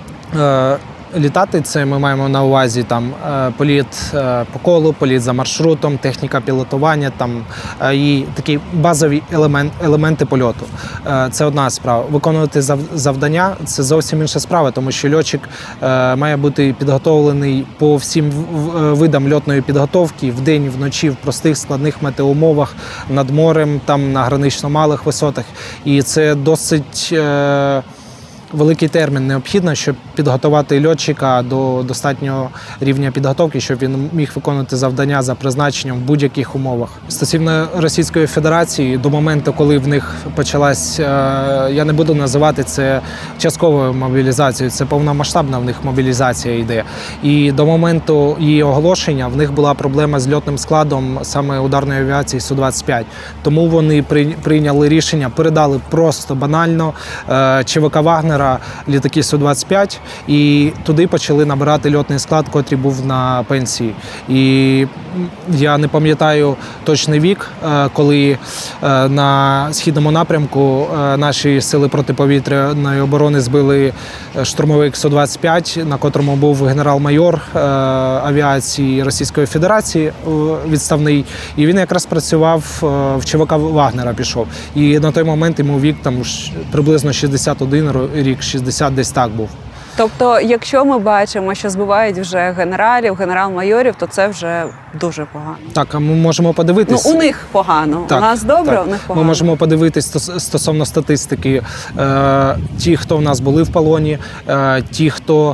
літати – це ми маємо на увазі там політ по колу, політ за маршрутом, техніка пілотування і такі базові елементи польоту. Це одна справа. Виконувати завдання – це зовсім інша справа, тому що льотчик має бути підготовлений по всім видам льотної підготовки вдень, вночі, в простих складних метеоумовах, над морем, на гранично малих висотах. І це досить великий термін необхідно, щоб підготувати льотчика до достатнього рівня підготовки, щоб він міг виконувати завдання за призначенням в будь-яких умовах. Стосовно Російської Федерації, до моменту, коли в них почалась, я не буду називати це частковою мобілізацією, це повномасштабна в них мобілізація йде. І до моменту її оголошення в них була проблема з льотним складом саме ударної авіації Су-25. Тому вони прийняли рішення, передали просто банально ЧВК «Вагнер» літаки Су-25, і туди почали набирати льотний склад, котрий був на пенсії. І я не пам'ятаю точний вік, коли на східному напрямку наші сили протиповітряної оборони збили штурмовик Су-25, на котрому був генерал-майор авіації Російської Федерації відставний. І він якраз працював в ЧВК «Вагнера», пішов. І на той момент йому вік приблизно 61 рік, 60 десь так був. Тобто, якщо ми бачимо, що збивають вже генералів, генерал-майорів, то це вже дуже погано. Так, а ми можемо подивитись. У них погано. Так, у нас добре, у них погано. Ми можемо подивитись стосовно статистики. Ті, хто в нас були в полоні, ті, хто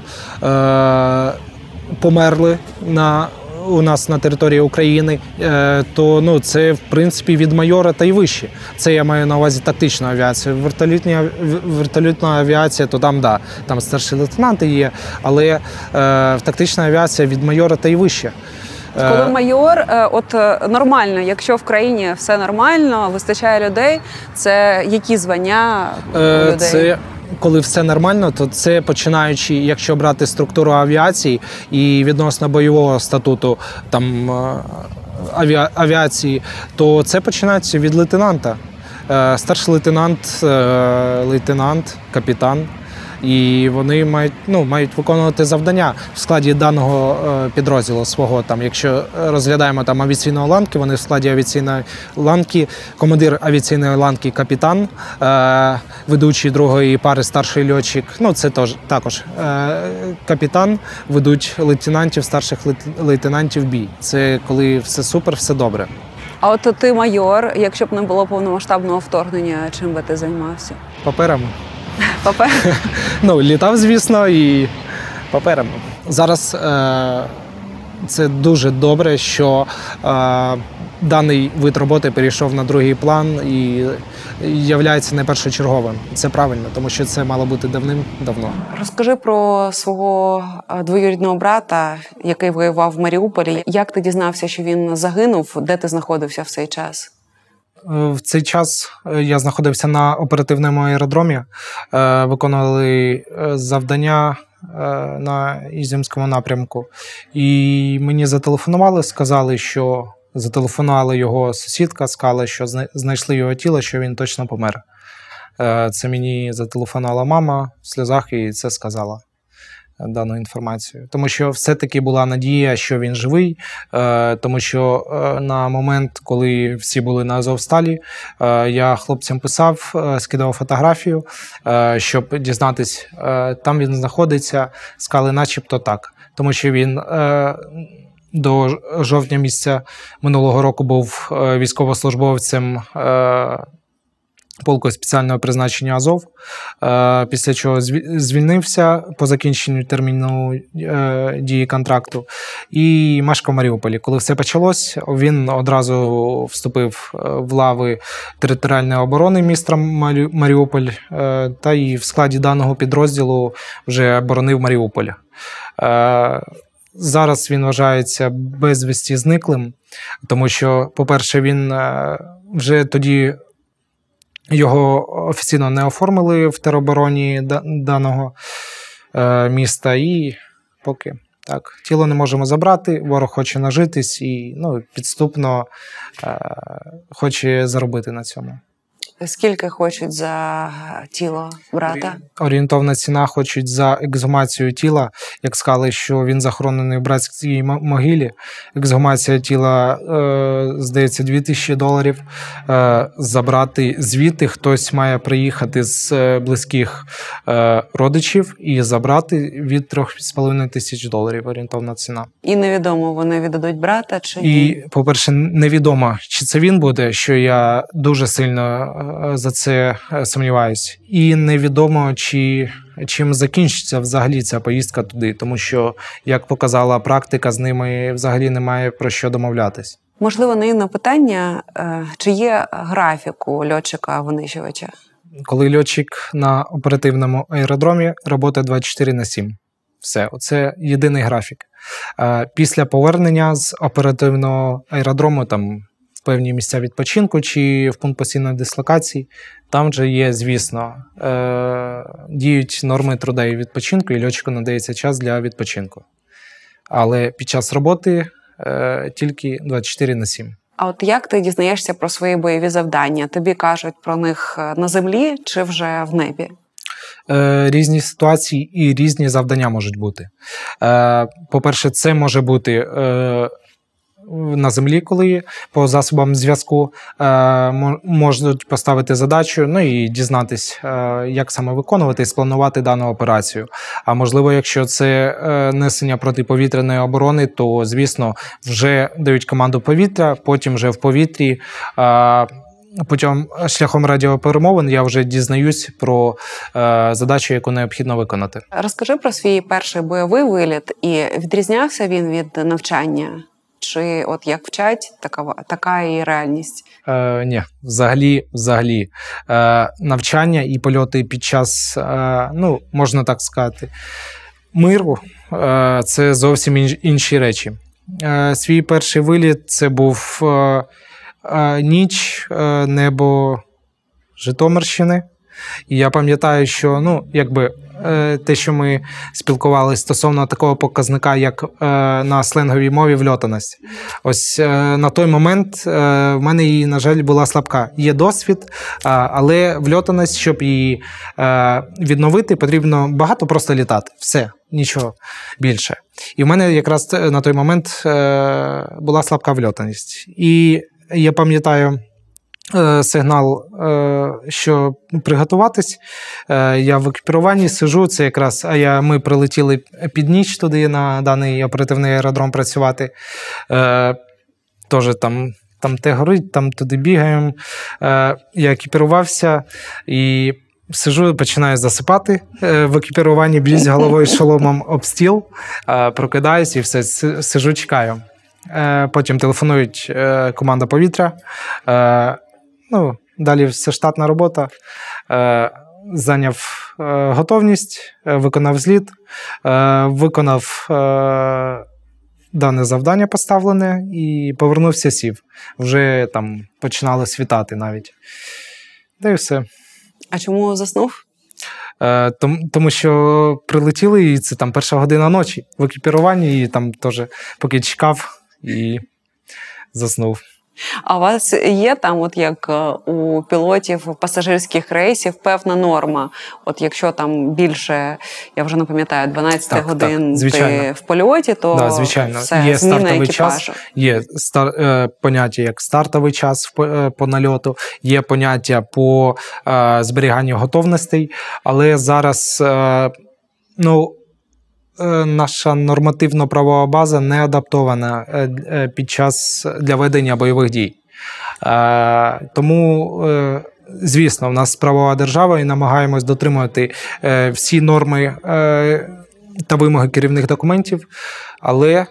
померли у нас на території України, то це, в принципі, від майора та й вище. Це я маю на увазі тактичну авіацію. Вертольотна авіація, то там старші лейтенанти є, але тактична авіація від майора та й вище. Коли майор, нормально, якщо в країні все нормально, вистачає людей, це які звання у людей? Коли все нормально, то це починаючи, якщо брати структуру авіації і відносно бойового статуту авіації, то це починається від лейтенанта. Старший лейтенант, капітан і вони мають виконувати завдання в складі даного підрозділу свого. Там, якщо розглядаємо там авіаційної ланки, вони в складі авіаційної ланки, командир авіаційної ланки капітан, ведучий другої пари старший льотчик, це також капітан, ведуть лейтенантів, старших лейтенантів бій. Це коли все супер, все добре. А от ти майор, якщо б не було повномасштабного вторгнення, чим би ти займався? Паперами. Паперами? Літав, звісно, і паперами. Зараз це дуже добре, що даний вид роботи перейшов на другий план і являється не першочерговим. Це правильно, тому що це мало бути давним-давно. Розкажи про свого двоюрідного брата, який воював в Маріуполі. Як ти дізнався, що він загинув? Де ти знаходився в цей час? В цей час я знаходився на оперативному аеродромі, виконували завдання на Ізюмському напрямку. І мені зателефонувала його сусідка, сказали, що знайшли його тіло, що він точно помер. Це мені зателефонувала мама в сльозах і це сказала, дану інформацію. Тому що все-таки була надія, що він живий, тому що на момент, коли всі були на Азовсталі, я хлопцям писав, скидав фотографію, щоб дізнатись, там він знаходиться, сказали начебто так. Тому що він до жовтня місяця минулого року був військовослужбовцем полку спеціального призначення Азов, після чого звільнився по закінченню терміну дії контракту і мешкав в Маріуполі. Коли все почалось, він одразу вступив в лави територіальної оборони міста Маріуполь та і в складі даного підрозділу вже боронив Маріуполь. Зараз він вважається безвісті зниклим, тому що, по-перше, він вже тоді його офіційно не оформили в теробороні даного міста і поки так. Тіло не можемо забрати, ворог хоче нажитись і підступно хоче заробити на цьому. Скільки хочуть за тіло брата? Орієнтовна ціна хочуть за ексгумацію тіла. Як сказали, що він захоронений в братській могилі. Ексгумація тіла, здається, $2000. Забрати звідти хтось має приїхати з близьких родичів і забрати від $3500 орієнтовна ціна. І невідомо, вони віддадуть брата чи ні? І, по-перше, невідомо, чи це він буде, що я дуже сильно за це сумніваюсь. І невідомо, чим закінчиться взагалі ця поїздка туди, тому що, як показала практика, з ними взагалі немає про що домовлятись. Можливо, наївне питання, чи є графік у льотчика-винищувача? Коли льотчик на оперативному аеродромі, робота 24/7. Все, оце єдиний графік. Після повернення з оперативного аеродрому, там, в певні місця відпочинку чи в пункт постійної дислокації, там вже є, звісно, діють норми труда і відпочинку, і льотчику надається час для відпочинку. Але під час роботи тільки 24/7. А от як ти дізнаєшся про свої бойові завдання? Тобі кажуть про них на землі чи вже в небі? Різні ситуації і різні завдання можуть бути. По-перше, це може бути на землі, коли по засобам зв'язку можуть поставити задачу, і дізнатись, як саме виконувати і спланувати дану операцію. А можливо, якщо це несення протиповітряної оборони, то, звісно, вже дають команду повітря, потім вже в повітрі, шляхом радіоперемовин я вже дізнаюсь про задачу, яку необхідно виконати. Розкажи про свій перший бойовий виліт. І відрізнявся він від навчання? Чи от як вчать, така і реальність? Ні, взагалі. Навчання і польоти під час, можна так сказати, миру – це зовсім інші речі. Свій перший виліт – це був ніч, небо Житомирщини. І я пам'ятаю, що, ну, якби, те, що ми спілкувалися стосовно такого показника, як на сленговій мові вльотаність. Ось на той момент в мене її, на жаль, була слабка. Є досвід, але вльотаність, щоб її відновити, потрібно багато просто літати. Все, нічого більше. І в мене якраз на той момент була слабка вльотаність. І я пам'ятаю сигнал, що приготуватись. Я в екіпіруванні сижу, це якраз, ми прилетіли під ніч туди на даний оперативний аеродром працювати. Теж там те горить, там туди бігаємо. Я екіпірувався і сижу, починаю засипати в екіпіруванні, б'юсь головою шоломом об стіл, прокидаюсь і все, сижу, чекаю. Потім телефонують команда повітря. Ну, далі все штатна робота. Зайняв готовність, виконав зліт, виконав дане завдання поставлене і повернувся, сів. Вже там починало світати навіть. Та й все. А чому заснув? Тому що прилетіли, і це там 1 година ночі в екіпіруванні, і там теж поки чекав і заснув. А у вас є там, от як у пілотів пасажирських рейсів, певна норма? От якщо там більше, я вже не пам'ятаю, 12 годин ти в польоті, то звичайно. все, є зміна стартовий екіпажу. Час, є поняття як стартовий час по нальоту, є поняття по зберіганню готовностей, але зараз, наша нормативно-правова база не адаптована для ведення бойових дій. Тому, звісно, в нас правова держава і намагаємось дотримувати всі норми та вимоги керівних документів, але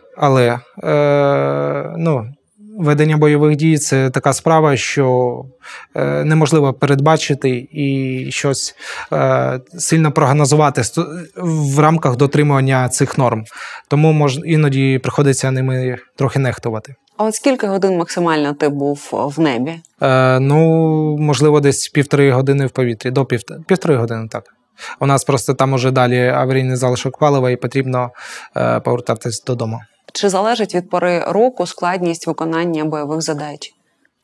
ведення бойових дій – це така справа, що неможливо передбачити і щось сильно прогнозувати в рамках дотримування цих норм. Тому іноді приходиться ними трохи нехтувати. А от скільки годин максимально ти був в небі? Можливо, десь 1,5 години в повітрі, до 1,5 години, так. У нас просто там уже далі аварійний залишок палива і потрібно повертатись додому. Чи залежить від пори року складність виконання бойових задач?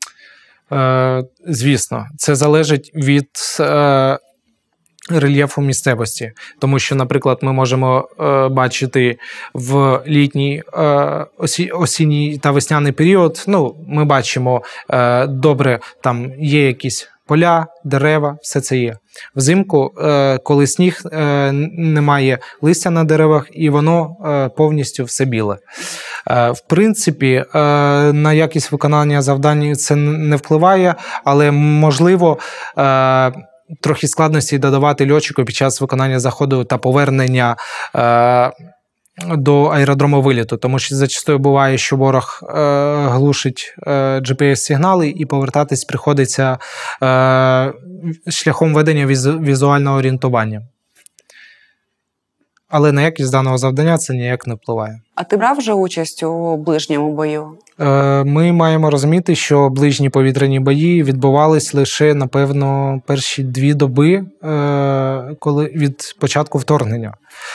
Звісно, це залежить від рельєфу місцевості. Тому що, наприклад, ми можемо бачити в літній, осінній та весняний період, ми бачимо добре, там є якісь поля, дерева, все це є. Взимку, коли сніг, немає листя на деревах, і воно повністю все біле. В принципі, на якість виконання завдань це не впливає, але можливо трохи складності додавати льотчику під час виконання заходу та повернення до аеродрому виліту, тому що зачастую буває, що ворог глушить GPS-сигнали і повертатись приходиться шляхом ведення візуального орієнтування. Але на якість даного завдання це ніяк не впливає. А ти брав вже участь у ближньому бою? Ми маємо розуміти, що ближні повітряні бої відбувались лише, напевно, перші 2 доби від початку вторгнення.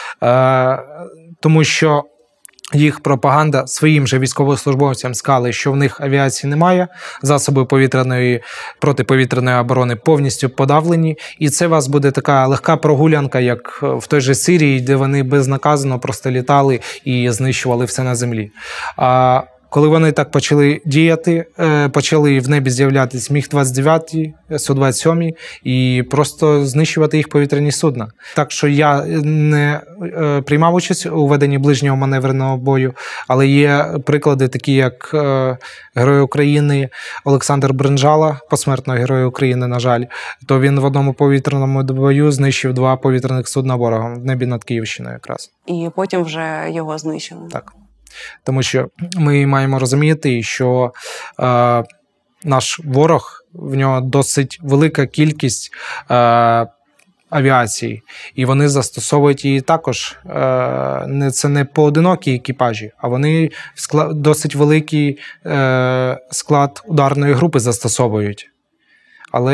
Тому що їх пропаганда своїм же військовослужбовцям сказали, що в них авіації немає, засоби протиповітряної оборони повністю подавлені, і це у вас буде така легка прогулянка, як в той же Сирії, де вони безнаказано просто літали і знищували все на землі. Коли вони так почали діяти, почали в небі з'являтися Міг-29, Су-27 і просто знищувати їх повітряні судна. Так що я не приймав участь у веденні ближнього маневреного бою, але є приклади такі, як Герой України Олександр Бринжала, посмертно Герой України, на жаль, то він в одному повітряному бою знищив 2 повітряних судна ворога в небі над Київщиною якраз. І потім вже його знищили. Так. Тому що ми маємо розуміти, що наш ворог, в нього досить велика кількість авіації, і вони застосовують її також. Це не поодинокі екіпажі, а вони досить великий склад ударної групи застосовують.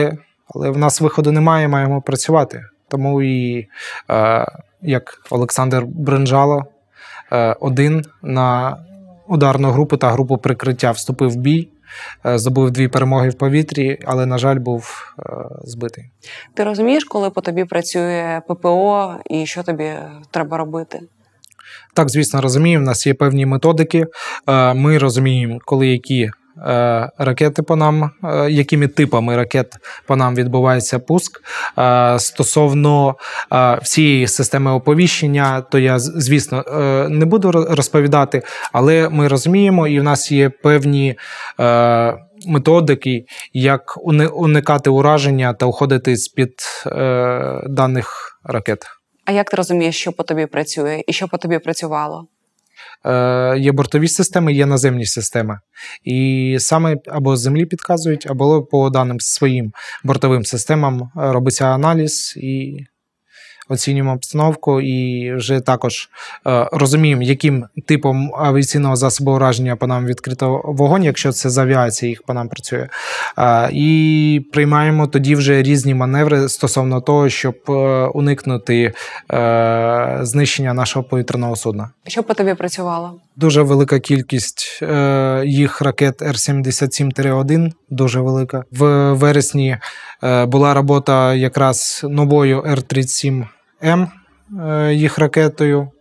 Але в нас виходу немає, маємо працювати. Тому і, як Олександр Бринджало, один на ударну групу та групу прикриття вступив в бій, здобув 2 перемоги в повітрі, але, на жаль, був збитий. Ти розумієш, коли по тобі працює ППО і що тобі треба робити? Так, звісно, розуміємо. У нас є певні методики. Ми розуміємо, коли які ракети по нам, якими типами ракет по нам відбувається пуск. Стосовно всієї системи оповіщення, то я, звісно, не буду розповідати, але ми розуміємо, і в нас є певні методики, як уникати ураження та уходити з-під даних ракет. А як ти розумієш, що по тобі працює і що по тобі працювало? Є бортові системи, є наземні системи. І саме або з землі підказують, або по даним своїм бортовим системам робиться аналіз і оцінюємо обстановку. І вже також розуміємо, яким типом авіаційного засобу ураження по нам відкрито вогонь, якщо це з авіації їх по нам працює. І приймаємо тоді вже різні маневри стосовно того, щоб уникнути знищення нашого повітряного судна. Що по тобі працювало? Дуже велика кількість їх ракет Р-77-1, дуже велика. В вересні була робота якраз новою Р-37М, їх ракетою.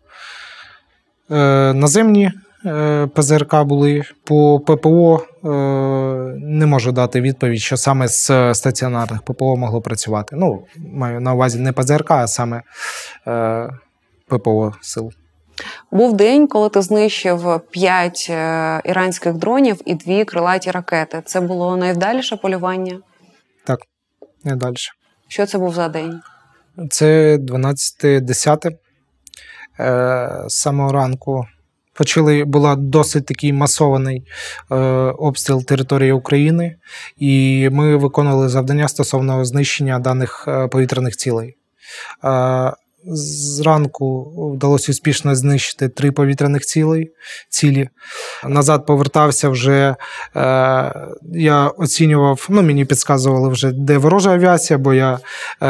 Наземні ПЗРК були. По ППО не можу дати відповідь, що саме з стаціонарних ППО могло працювати. Ну, маю на увазі не ПЗРК, а саме ППО сил. Був день, коли ти знищив 5 іранських дронів і 2 крилаті ракети. Це було найвдаліше полювання? Так, найдальше. Що це був за день? Це 12-10. З самого ранку була досить такий масований обстріл території України, і ми виконували завдання стосовно знищення даних повітряних цілей. Зранку вдалося успішно знищити 3 повітряних цілі. Назад повертався вже, я оцінював, мені підказували вже, де ворожа авіація, бо я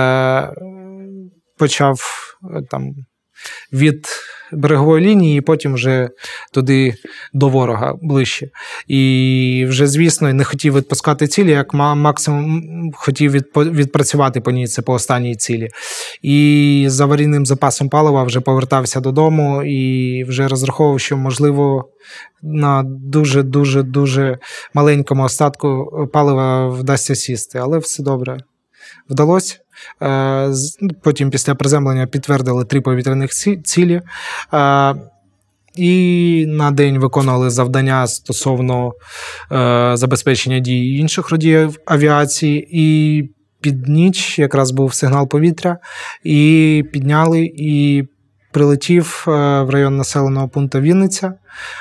почав там від берегової лінії, і потім вже туди до ворога ближче. І вже, звісно, не хотів відпускати цілі, як максимум хотів відпрацювати по ній, це по останній цілі. І з аварійним запасом палива вже повертався додому і вже розраховував, що, можливо, на дуже маленькому остатку палива вдасться сісти. Але все добре. Вдалося. Потім після приземлення підтвердили 3 повітряних цілі. І на день виконували завдання стосовно забезпечення дій інших родів авіації. І під ніч якраз був сигнал повітря. І підняли, і прилетів в район населеного пункту Вінниця.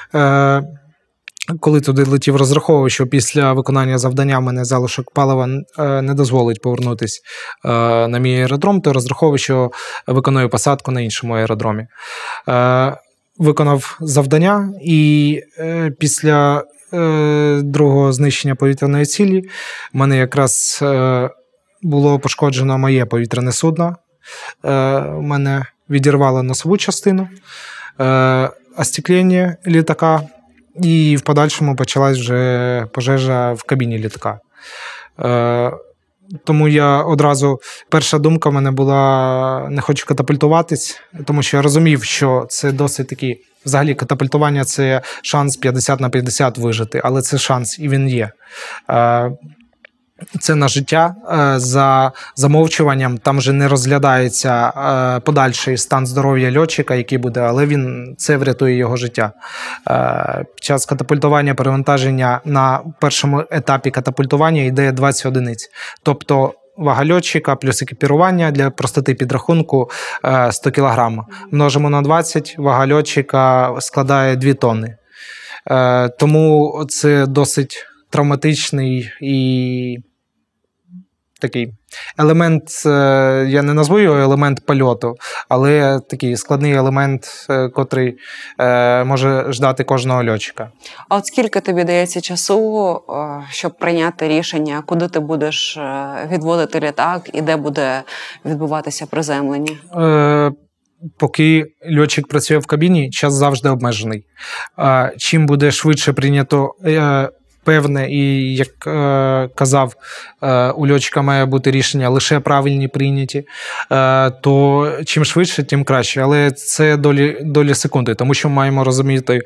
Коли туди летів, розраховував, що після виконання завдання мене залишок палива не дозволить повернутися на мій аеродром, то розраховував, що виконую посадку на іншому аеродромі. Виконав завдання, і після другого знищення повітряної цілі в мене якраз було пошкоджено моє повітряне судно. Мене відірвало носову частину, остеклення літака, і в подальшому почалась вже пожежа в кабіні літака. Тому я одразу, перша думка в мене була, не хочу катапультуватись, тому що я розумів, що це досить такий, взагалі катапультування – це шанс 50/50 вижити, але це шанс, і він є. Це на життя, за замовчуванням, там вже не розглядається подальший стан здоров'я льотчика, який буде, але це врятує його життя. Під час катапультування перевантаження на першому етапі катапультування йде 20 одиниць. Тобто вага льотчика плюс екіпірування для простоти підрахунку 100 кг. Множимо на 20, вага льотчика складає 2 тонни. Тому це досить травматичний і такий елемент, я не назву його елемент польоту, але такий складний елемент, котрий може ждати кожного льотчика. А от скільки тобі дається часу, щоб прийняти рішення, куди ти будеш відводити літак і де буде відбуватися приземлення? Поки льотчик працює в кабіні, час завжди обмежений. Чим буде швидше прийнято певне, і, як казав, у льотчика має бути рішення лише правильні прийняті, то чим швидше, тим краще. Але це долі секунди, тому що маємо розуміти,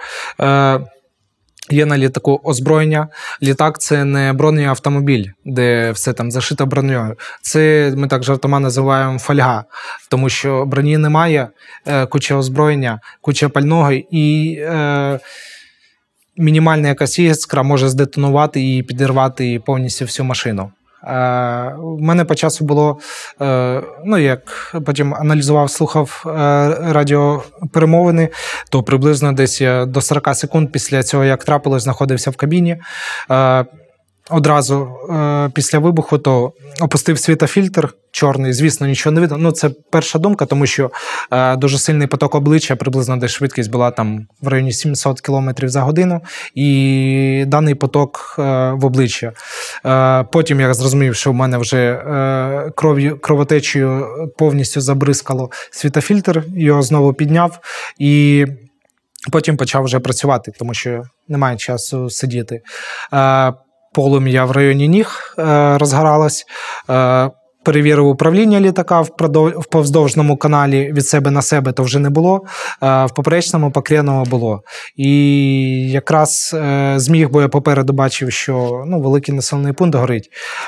є на літаку озброєння. Літак – це не бронеавтомобіль, де все там зашито бронею. Це ми так жартома називаємо фольга, тому що броні немає, куча озброєння, куча пального і мінімальна якась іскра може здетонувати і підірвати повністю всю машину. У мене по часу було, як потім аналізував, слухав радіоперемовини, то приблизно десь до 40 секунд після цього, як трапилось, знаходився в кабіні. Одразу після вибуху то опустив світофільтр чорний, звісно, нічого не видно. Це перша думка, тому що дуже сильний поток обличчя, приблизно десь швидкість була там в районі 700 км за годину, і даний поток в обличчя. Потім я зрозумів, що в мене вже кровотечею повністю забризкало світофільтр, його знову підняв, і потім почав вже працювати, тому що немає часу сидіти. Полум'я в районі ніг розгоралось, перевірив управління літака в повздовжному каналі, від себе на себе то вже не було, в поперечному покрєному було. І якраз зміг, бо я попереду бачив, що великий населений пункт горить.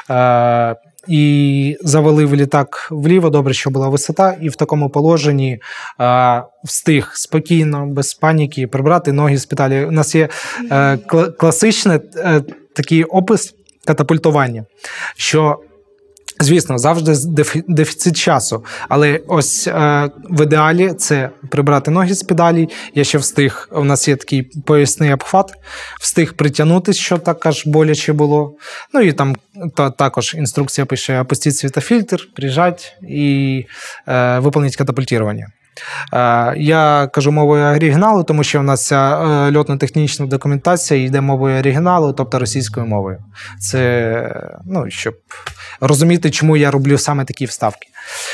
І завалив літак вліво, добре, що була висота, і в такому положенні встиг спокійно, без паніки, прибрати ноги з педалі. У нас є класичний такий опис катапультування, що, звісно, завжди дефіцит часу, але ось в ідеалі це прибрати ноги з педалі. Я ще встиг, у нас є такий поясний обхват, встиг притягнутися, що так аж боляче було. І там також інструкція пише: опустіть світофільтр, прижать і виконати катапультування. Я кажу мовою оригіналу, тому що в нас ця льотно-технічна документація йде мовою оригіналу, тобто російською мовою. Це, щоб розуміти, чому я роблю саме такі вставки.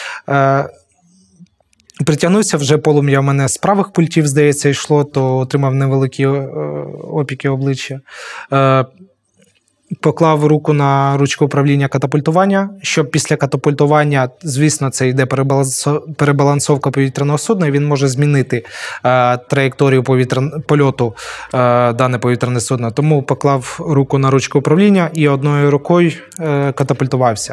Притягнувся, вже полум'я в мене з правих пультів, здається, йшло, то отримав невеликі опіки обличчя. Поклав руку на ручку управління катапультування, щоб після катапультування, звісно, це йде перебалансовка повітряного судна, і він може змінити траєкторію польоту дане повітряне судно. Тому поклав руку на ручку управління і одною рукою катапультувався.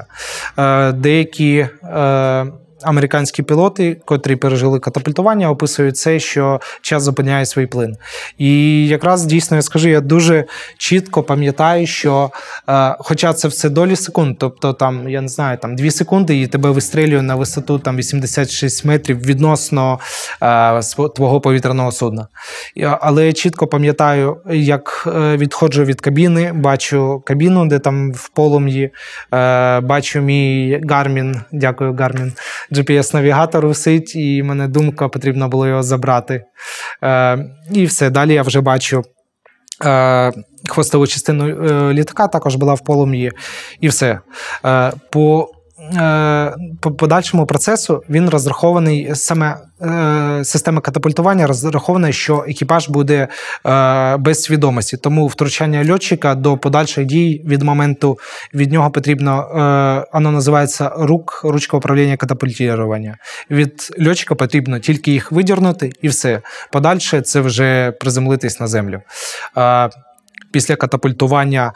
Деякі американські пілоти, котрі пережили катапультування, описують це, що час зупиняє свій плин. І якраз, дійсно, я скажу, я дуже чітко пам'ятаю, що, хоча це все долі секунд, тобто, там, я не знаю, 2 секунди і тебе вистрілює на висоту 86 метрів відносно твого повітряного судна. Але я чітко пам'ятаю, як відходжу від кабіни, бачу кабіну, де там в полум'ї, бачу мій Garmin, дякую, Garmin, GPS-навігатор висить, і мене думка, потрібно було його забрати. І все, далі я вже бачу хвостову частину літака, також була в полум'ї, і все. По подальшому процесу він розрахований, саме система катапультування розрахована, що екіпаж буде без свідомості. Тому втручання льотчика до подальших дій від моменту від нього потрібно, воно називається ручка управління катапультування. Від льотчика потрібно тільки їх видірнути і все. Подальше це вже приземлитись на землю. Після катапультування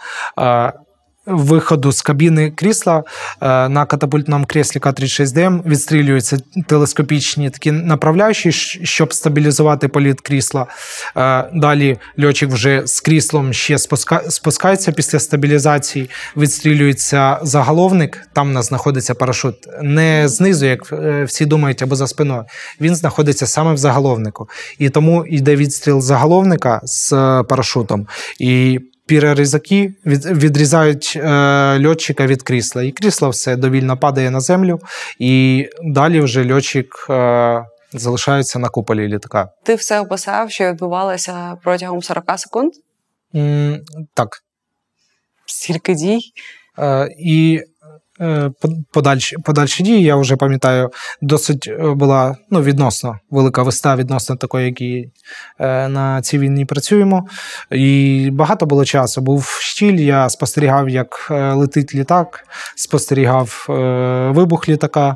виходу з кабіни крісла на катапультному кріслі К-36ДМ відстрілюються телескопічні такі направляючі, щоб стабілізувати політ крісла. Далі льотчик вже з кріслом ще спускається після стабілізації, відстрілюється заголовник, там у нас знаходиться парашут. Не знизу, як всі думають, або за спиною. Він знаходиться саме в заголовнику. І тому йде відстріл заголовника з парашутом. І пірорізаки відрізають льотчика від крісла. І крісло все довільно падає на землю, і далі вже льотчик залишається на куполі літака. Ти все описав, що відбувалося протягом 40 секунд? Так. Стільки дій? І подальші дії, я вже пам'ятаю, досить була відносно велика вистава відносно такої, які на цій війні працюємо. І багато було часу. Був штіль, я спостерігав, як летить літак, спостерігав вибух літака.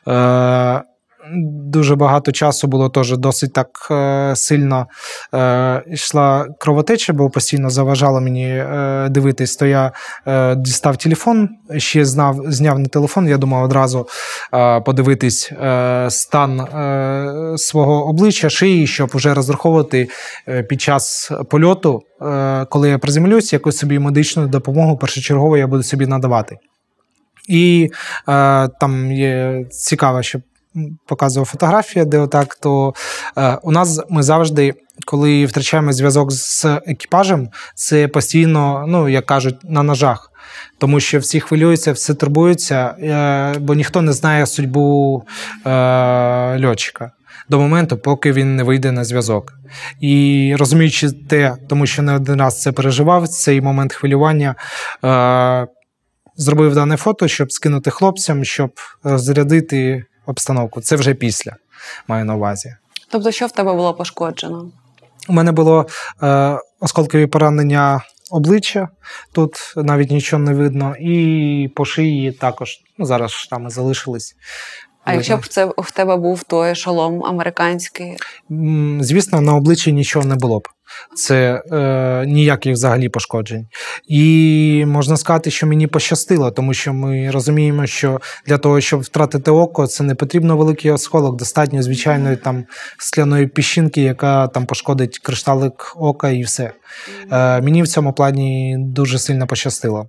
Дуже багато часу було теж досить так сильно йшла кровотеча, бо постійно заважало мені дивитись. То я дістав телефон, ще зняв на телефон, я думав одразу подивитись стан свого обличчя, шиї, щоб вже розраховувати під час польоту, коли я приземлюсь, якусь собі медичну допомогу першочергово я буду собі надавати. І там є цікаво, що показував фотографія, де отак, то у нас ми завжди, коли втрачаємо зв'язок з екіпажем, це постійно, як кажуть, на ножах. Тому що всі хвилюються, всі турбуються, бо ніхто не знає судьбу льотчика до моменту, поки він не вийде на зв'язок. І розуміючи те, тому що не один раз це переживав, цей момент хвилювання, зробив дане фото, щоб скинути хлопцям, щоб розрядити обстановку. Це вже після, маю на увазі. Тобто, що в тебе було пошкоджено? У мене було осколкові поранення обличчя, тут навіть нічого не видно, і по шиї також. Зараз шрами залишились. А якщо б в тебе був той шолом американський? Звісно, на обличчі нічого не було б. Це ніяких взагалі пошкоджень. І можна сказати, що мені пощастило, тому що ми розуміємо, що для того, щоб втратити око, це не потрібно великий осколок, достатньо звичайної там скляної піщинки, яка там пошкодить кришталик ока і все. Мені в цьому плані дуже сильно пощастило.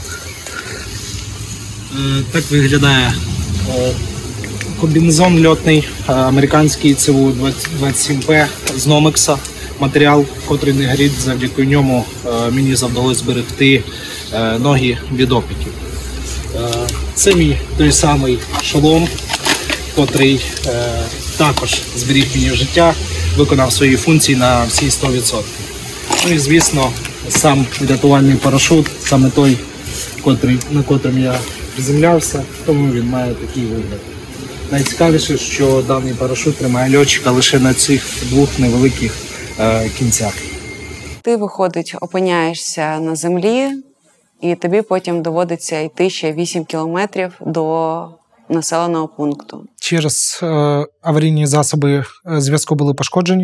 Так виглядає комбінезон льотний, американський ЦУ-27П з Номекса. Матеріал, котрий не горить, завдяки ньому мені завдалося зберегти ноги від опіків. Це мій той самий шолом, котрий також зберіг мені життя, виконав свої функції на всі 100%. Ну і, звісно, сам рятувальний парашут, саме той, на котрим я приземлявся, тому він має такий вигляд. Найцікавіше, що даний парашут тримає льотчика лише на цих двох невеликих кінцях. Ти, виходить, опиняєшся на землі, і тобі потім доводиться йти ще 8 кілометрів до населеного пункту. Через аварійні засоби зв'язку були пошкоджені.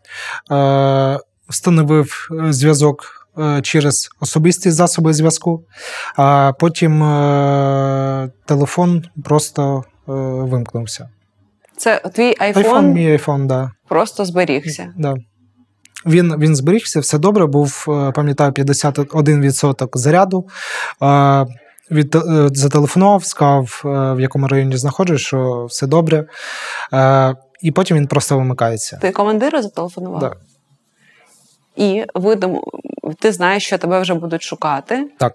Встановив зв'язок через особисті засоби зв'язку, а потім телефон просто вимкнувся. Це твій айфон? Мій айфон, да. Просто зберігся? Да. Він зберігся, все добре, був, пам'ятаю, 51% заряду. Зателефонував, сказав, в якому районі знаходжусь, що все добре. І потім він просто вимикається. Ти командиру зателефонував? Так. Да. І ти знаєш, що тебе вже будуть шукати? Так.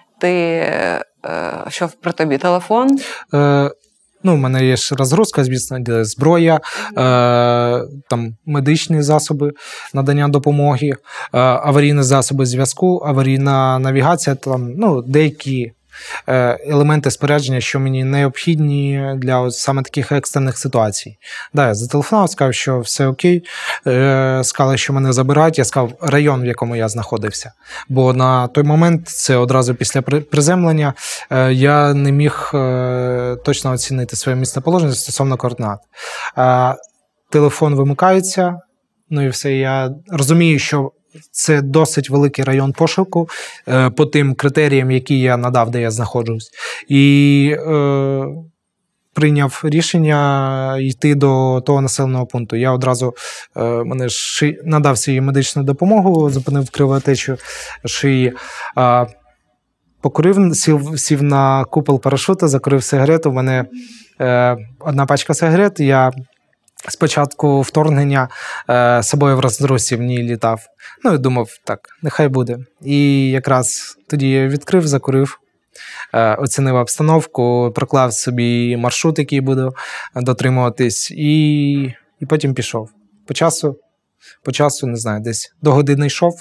Що при тобі телефон? У мене є ж розгрузка, звісно, де зброя, там медичні засоби надання допомоги, аварійні засоби зв'язку, аварійна навігація, там, деякі елементи спорядження, що мені необхідні для саме таких екстрених ситуацій. Да, я зателефонував, сказав, що все окей, сказали, що мене забирають, я сказав район, в якому я знаходився. Бо на той момент, це одразу після приземлення, я не міг точно оцінити своє місцеположення стосовно координат. Телефон вимикається, і все, я розумію, що це досить великий район пошуку по тим критеріям, які я надав, де я знаходжусь. І прийняв рішення йти до того населеного пункту. Я одразу надав свою медичну допомогу, зупинив кровотечу шиї, покурив, сів на купол парашута, закурив сигарету. У мене одна пачка сигарет, я спочатку вторгнення собою в роздросі в ній літав. Ну, і думав, так, нехай буде. І якраз тоді я відкрив, закурив, оцінив обстановку, проклав собі маршрут, який буду дотримуватись, і потім пішов. По часу, не знаю, десь до години йшов.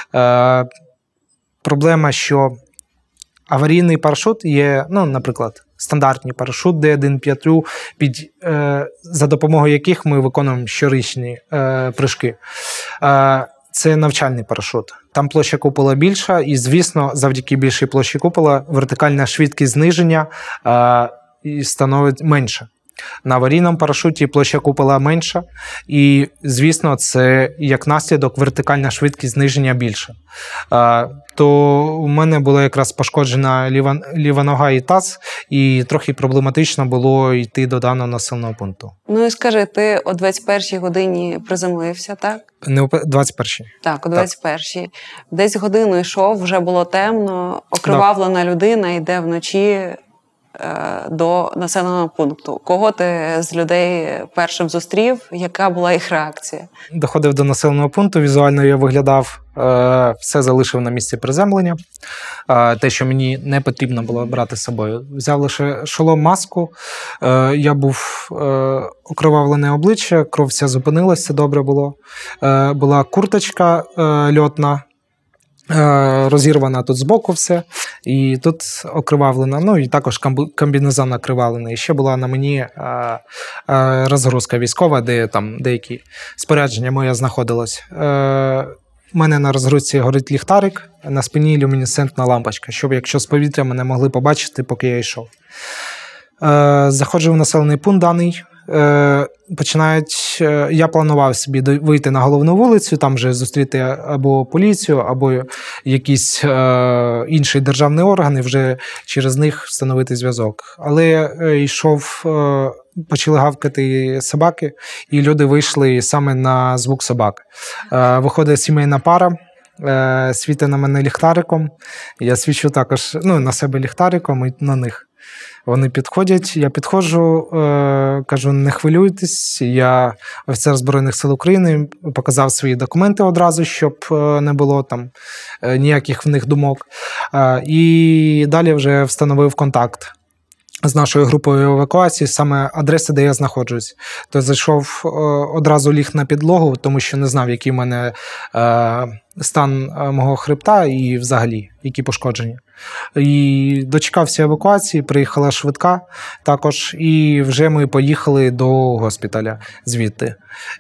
Проблема, що аварійний парашут є, ну, наприклад, стандартний парашут D1.5, за допомогою яких ми виконуємо щорічні прыжки. Це навчальний парашут. Там площа купола більша, і, звісно, завдяки більшій площі купола вертикальна швидкість зниження становить менше. На аварійному парашуті площа купола менша, і, звісно, це як наслідок вертикальна швидкість зниження більша. То у мене була якраз пошкоджена ліва нога і таз, і трохи проблематично було йти до даного населеного пункту. Ну і скажи, ти о 21-й годині приземлився, так? Не о 21-й. Так, о 21-й. Десь годину йшов, вже було темно, окривавлена людина йде вночі до населеного пункту. Кого ти з людей першим зустрів? Яка була їх реакція? Доходив до населеного пункту, візуально я виглядав, все залишив на місці приземлення. Те, що мені не потрібно було брати з собою. Взяв лише шолом, маску, я був окровавлене обличчя, кров вся зупинилася, все добре було. Була курточка льотна, розірвана тут збоку все, і тут окривавлена, ну і також комбінезон окривавлений. І ще була на мені розгрузка військова, де там деякі спорядження моє знаходилось. У мене на розгрузці горить ліхтарик, на спині люмінесцентна лампочка, щоб якщо з повітря мене могли побачити, поки я йшов. Заходжу в населений пункт даний, я планував собі вийти на головну вулицю, там вже зустріти або поліцію, або якісь інші державні органи, вже через них встановити зв'язок. Але йшов, почали гавкати собаки, і люди вийшли саме на звук собак. Виходить сімейна пара, світить на мене ліхтариком, я свічу також на себе ліхтариком і на них. Вони підходять, я підходжу, кажу, не хвилюйтесь, я офіцер Збройних сил України, показав свої документи одразу, щоб не було там ніяких в них думок. І далі вже встановив контакт з нашою групою евакуації, саме адреса, де я знаходжусь. То зайшов, одразу ліг на підлогу, тому що не знав, який в мене стан мого хребта і взагалі, які пошкодження. І дочекався евакуації, приїхала швидка також, і вже ми поїхали до госпіталя звідти.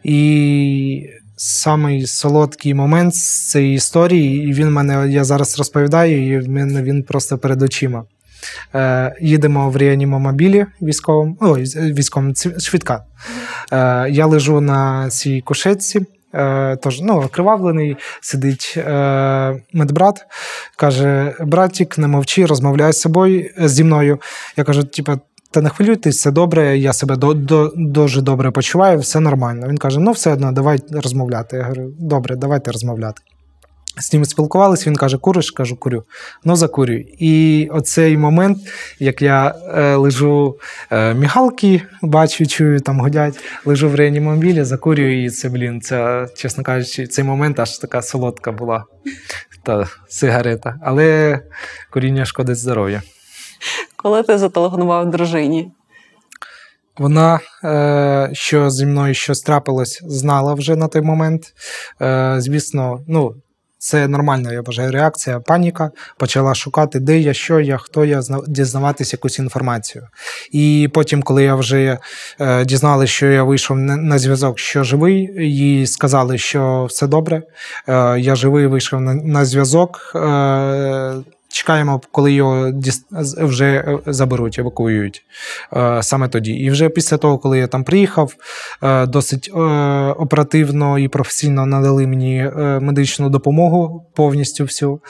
І самий солодкий момент з цієї історії, і він мене, я зараз розповідаю, і в мене він просто перед очима. Їдемо в реанімомобілі військовому, швидка. Я лежу на цій кушетці, тож, окривавлений, сидить медбрат, каже, братик, не мовчи, розмовляй зі мною. Я кажу, та не хвилюйтесь, все добре, я себе дуже добре почуваю, все нормально. Він каже, все одно, давай розмовляти. Я говорю, добре, давайте розмовляти. З ним спілкувалися, він каже, куриш? Кажу, курю. Закурюй. І оцей момент, як я лежу, мігалки бачу, чую, там гудять, лежу в реанімобілі, закурюю, і це, чесно кажучи, цей момент аж така солодка була та сигарета. Але куріння шкодить здоров'ю. Коли ти зателефонував дружині? Вона, що зі мною щось трапилось, знала вже на той момент. Звісно, це нормальна, я вважаю, реакція, паніка. Почала шукати, де я, що я, хто я, дізнаватися якусь інформацію. І потім, коли я вже дізналася, що я вийшов на зв'язок, що живий, їй сказали, що все добре, я живий, вийшов на зв'язок. Чекаємо, коли його вже заберуть, евакуюють саме тоді. І вже після того, коли я там приїхав, досить оперативно і професійно надали мені медичну допомогу повністю всю.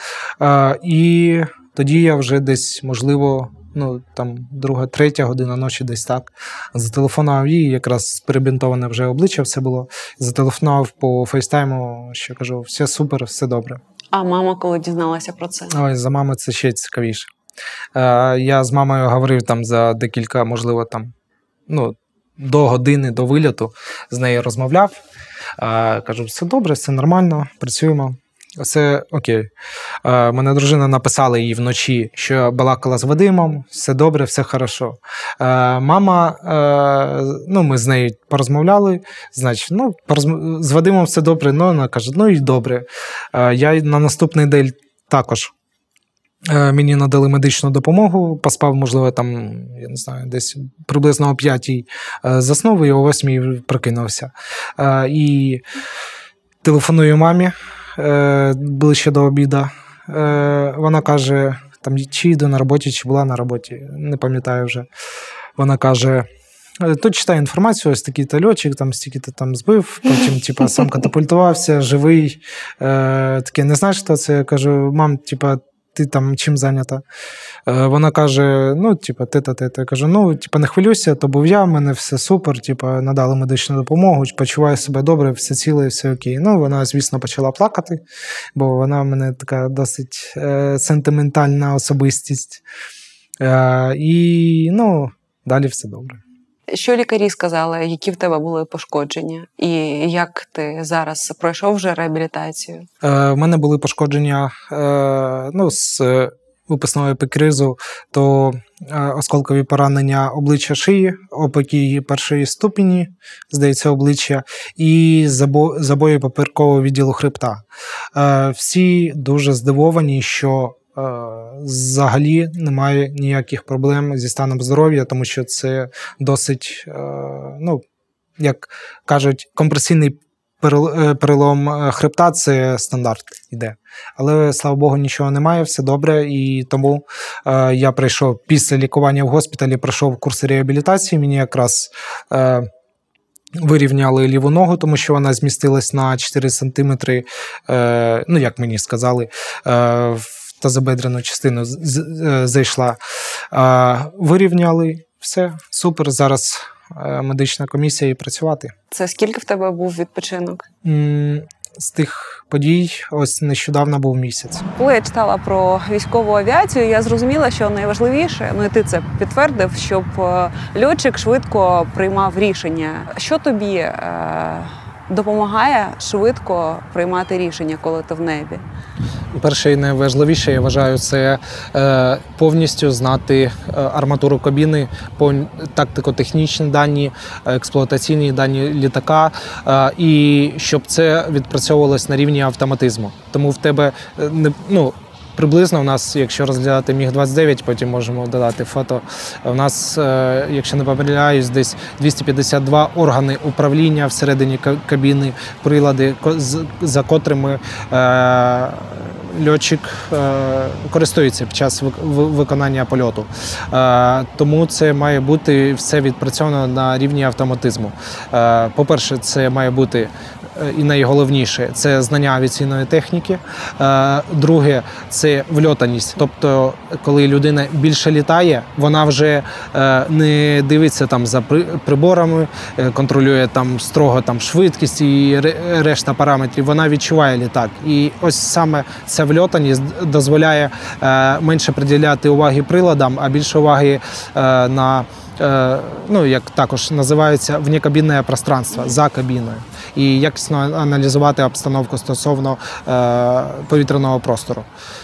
І тоді я вже десь, можливо, друга, третя година ночі десь так, зателефонував їй, якраз перебінтоване вже обличчя все було, зателефонував по фейстайму, що кажу, все супер, все добре. А мама коли дізналася про це? Ой, за мамою це ще цікавіше. Я з мамою говорив там за декілька, можливо, до години до вильоту з нею розмовляв. Кажу, все добре, все нормально, працюємо. Все окей. Мене дружина написала їй вночі, що балакала з Вадимом, все добре, все хорошо. Мама, ми з нею порозмовляли, значить, з Вадимом все добре, вона каже, і добре. Я на наступний день також мені надали медичну допомогу, поспав, можливо, там, я не знаю, десь приблизно о 5-й заснув і о 8-й прокинувся. І телефоную мамі ближче до обіду. Вона каже, там, чи йду на роботі, чи була на роботі, не пам'ятаю вже. Вона каже, тут читаю інформацію, ось такий-то льотчик, там стільки-то там збив, потім сам катапультувався, живий. Таке, не знаєш, хто це? Я кажу, мам, ти там чим зайнята? Вона каже, те. Я кажу, не хвилюйся, то був я, в мене все супер, надали медичну допомогу, почуваю себе добре, все ціле, все окей. Вона, звісно, почала плакати, бо вона в мене така досить сентиментальна особистість. І, далі все добре. Що лікарі сказали, які в тебе були пошкодження? І як ти зараз пройшов вже реабілітацію? В мене були пошкодження з випускного епікризу, то осколкові поранення обличчя шиї, опіки першої ступені, здається, обличчя, і забої поперекового відділу хребта. Всі дуже здивовані, що взагалі немає ніяких проблем зі станом здоров'я, тому що це досить, як кажуть, компресійний перелом хребта – це стандарт іде. Але, слава Богу, нічого немає, все добре, і тому я прийшов після лікування в госпіталі, пройшов курс реабілітації, мені якраз вирівняли ліву ногу, тому що вона змістилась на 4 сантиметри, як мені сказали, в тазобедрену частину зайшла. Вирівняли, все, супер, зараз медична комісія і працювати. Це скільки в тебе був відпочинок? З тих подій ось нещодавно був місяць. Коли я читала про військову авіацію, я зрозуміла, що найважливіше, і ти це підтвердив, щоб льотчик швидко приймав рішення. Що тобі допомагає швидко приймати рішення, коли ти в небі? Перше і найважливіше, я вважаю, це повністю знати арматуру кабіни, тактико-технічні дані, експлуатаційні дані літака, і щоб це відпрацьовувалось на рівні автоматизму. Тому в тебе, приблизно у нас, якщо розглядати Міг-29, потім можемо додати фото, у нас, якщо не помиляюсь, десь 252 органи управління всередині кабіни, прилади, за котрими льотчик користується під час виконання польоту. Тому це має бути все відпрацьовано на рівні автоматизму. По-перше, це має бути і найголовніше – це знання авіаційної техніки. Друге – це вльотаність. Тобто, коли людина більше літає, вона вже не дивиться там за приборами, контролює там строго швидкість і решта параметрів. Вона відчуває літак. І ось саме ця вльотаність дозволяє менше приділяти уваги приладам, а більше уваги на як також називається, внекабінне пространство, за кабіною. І якісно аналізувати обстановку стосовно повітряного простору.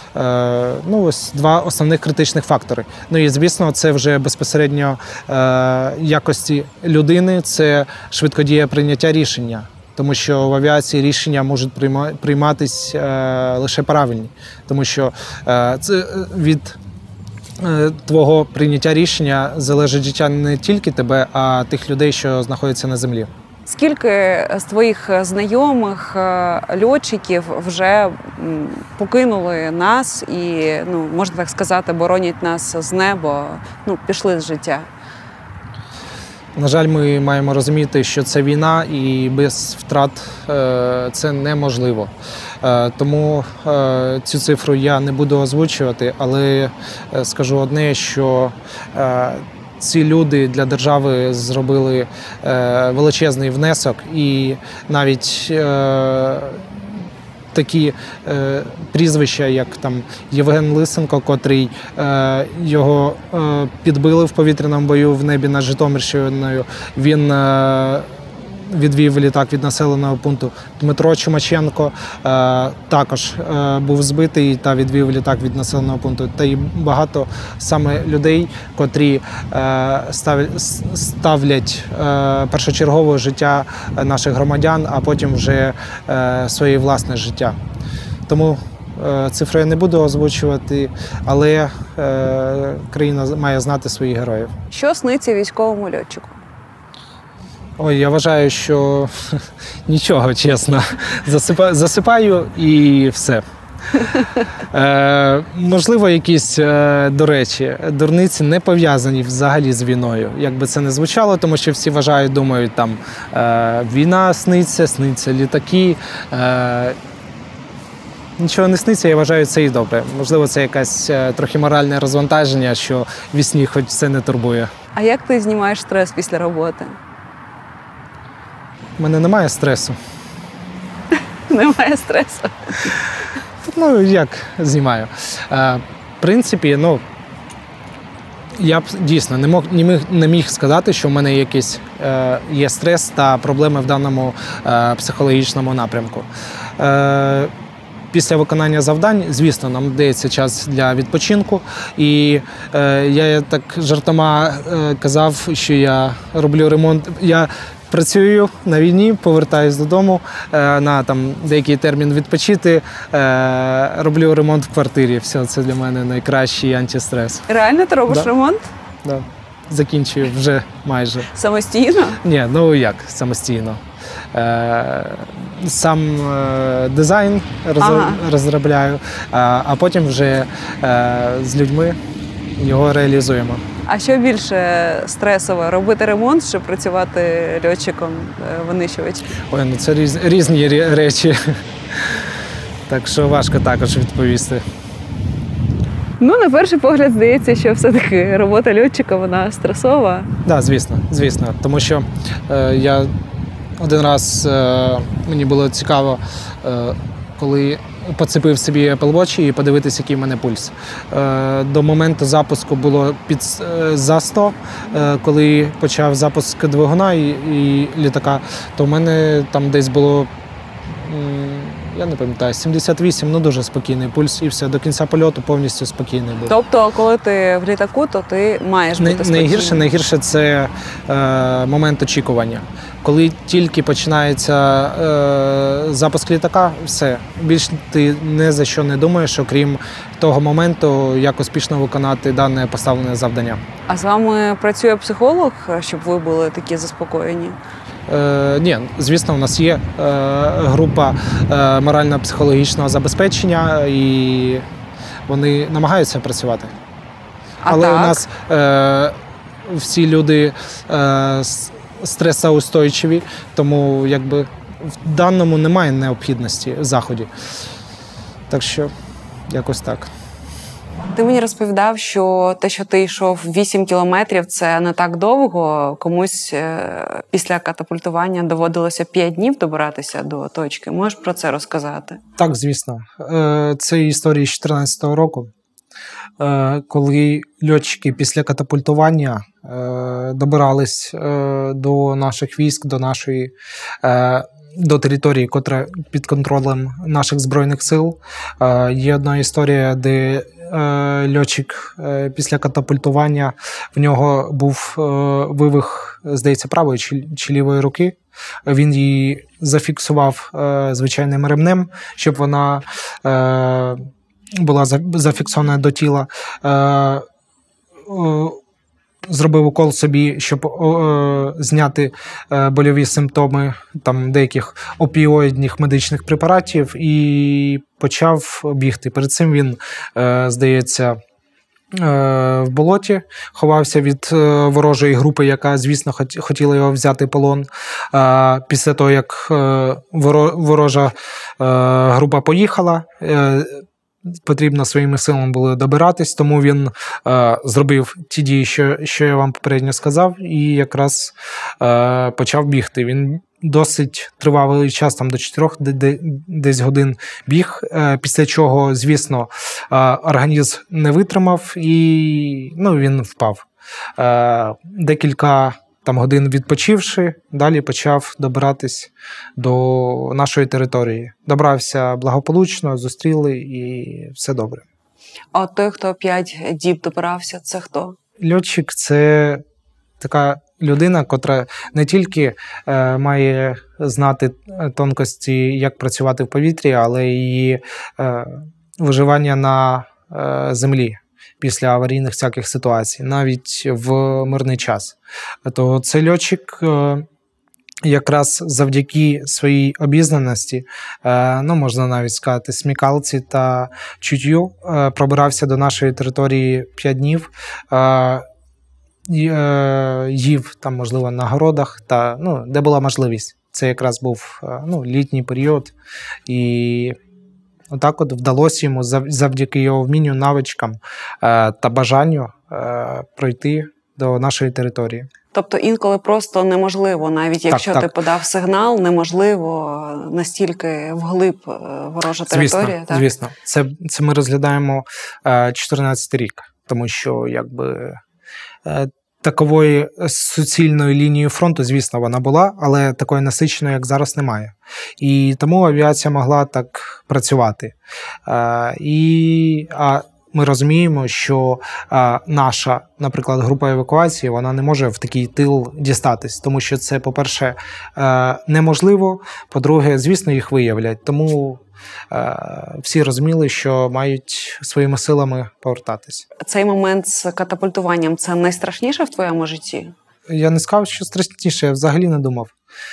Ось два основних критичних фактори. І, звісно, це вже безпосередньо якості людини, це швидкодія прийняття рішення. Тому що в авіації рішення можуть прийматись лише правильні. Тому що це від твого прийняття рішення залежить життя не тільки тебе, а тих людей, що знаходяться на землі. Скільки з твоїх знайомих льотчиків вже покинули нас і, можна так сказати, боронять нас з неба, пішли з життя? На жаль, ми маємо розуміти, що це війна і без втрат це неможливо. Тому цю цифру я не буду озвучувати, але скажу одне, що ці люди для держави зробили величезний внесок, і навіть такі прізвища, як там Євген Лисенко, котрий його підбили в повітряному бою в небі над Житомирщиною. Він відвів літак від населеного пункту. Дмитро Чумаченко також був збитий та відвів літак від населеного пункту. Та й багато саме людей, котрі ставлять першочергове життя наших громадян, а потім вже своє власне життя. Тому цифри я не буду озвучувати, але країна має знати своїх героїв. Що сниться військовому льотчику? Ой, я вважаю, що нічого, чесно. Засипаю і все. Можливо, якісь, до речі, дурниці не пов'язані взагалі з війною. Як би це не звучало, тому що всі вважають, думають, там війна сниться літаки. Нічого не сниться, я вважаю, це і добре. Можливо, це якесь трохи моральне розвантаження, що в сні хоч це не турбує. А як ти знімаєш стрес після роботи? У мене немає стресу. Немає стресу? Ну, як знімаю? В принципі, ну, я б дійсно не міг сказати, що в мене якийсь є стрес та проблеми в даному психологічному напрямку. Після виконання завдань, звісно, нам дається час для відпочинку. І я так жартома казав, що я роблю ремонт. Я працюю на війні, повертаюсь додому на там деякий термін відпочити, роблю ремонт в квартирі. Все, це для мене найкращий антистрес. Реально ти робиш ремонт? Да. Закінчую вже майже. Самостійно? Ні, ну як самостійно. Сам дизайн розробляю, а потім вже з людьми його реалізуємо. А що більше стресово? Робити ремонт чи працювати льотчиком-винищувачем? Ой, ну це різні речі. Так що важко також відповісти. Ну, на перший погляд, здається, що все-таки робота льотчика, вона стресова. Так, звісно. Тому що я один раз, мені було цікаво, коли поцепив собі Apple Watch і подивитися, який в мене пульс. До моменту запуску було за 100, коли почав запуск двигуна і літака, то в мене там десь було, я не пам'ятаю, 78, ну дуже спокійний пульс, і все, до кінця польоту повністю спокійний був. Тобто, коли ти в літаку, то ти маєш бути спокійним? Найгірше це момент очікування. Коли тільки починається запуск літака, все, більш ти не за що не думаєш, окрім того моменту, як успішно виконати дане поставлене завдання. А з вами працює психолог, щоб ви були такі заспокоєні? Ні, звісно, у нас є група морально-психологічного забезпечення, і вони намагаються працювати. Але у нас всі люди стресоустойчиві, тому якби в даному немає необхідності в заході. Так що якось так. Ти мені розповідав, що те, що ти йшов 8 кілометрів, це не так довго. Комусь після катапультування доводилося 5 днів добиратися до точки. Можеш про це розказати? Так, звісно. Це історія з 2014 року, коли льотчики після катапультування добирались до наших військ, до території, котра під контролем наших Збройних сил. Є одна історія, де льотчик після катапультування, в нього був вивих, здається, правої чи лівої руки. Він її зафіксував звичайним ремнем, щоб вона була зафіксована до тіла. Зробив укол собі, щоб зняти больові симптоми там деяких опіоїдних медичних препаратів, і почав бігти. Перед цим він, здається, в болоті ховався від ворожої групи, яка, звісно, хотіла його взяти полон. Після того, як ворожа група поїхала, потрібно своїми силами було добиратись, тому він зробив ті дії, що я вам попередньо сказав, і якраз почав бігти. Він досить тривалий час, там до 4 десь годин біг, після чого, звісно, організм не витримав і він впав. Декілька годин відпочивши, далі почав добиратись до нашої території. Добрався благополучно, зустріли і все добре. А той, хто 5 діб добирався, це хто? Льотчик – це така людина, котра не тільки має знати тонкості, як працювати в повітрі, але й виживання на землі після аварійних всяких ситуацій, навіть в мирний час. То цей льотчик якраз завдяки своїй обізнаності, можна навіть сказати, смікалці та чуттю, пробирався до нашої території 5 днів, їв там, можливо, на городах, де була можливість. Це якраз був літній період, і отак от вдалося йому завдяки його вмінню, навичкам та бажанню пройти до нашої території. Тобто інколи просто неможливо, навіть якщо ти подав сигнал, неможливо настільки вглиб ворожа територія. Звісно. Це ми розглядаємо 14-й рік, тому що такової суцільної лінії фронту, звісно, вона була, але такої насиченої, як зараз, немає. І тому авіація могла так працювати. Ми розуміємо, що наша, наприклад, група евакуації, вона не може в такий тил дістатись, тому що це, по-перше, неможливо, по-друге, звісно, їх виявлять. Тому всі розуміли, що мають своїми силами повертатись. Цей момент з катапультуванням – це найстрашніше в твоєму житті? Я не сказав, що страшніше, я взагалі не думав.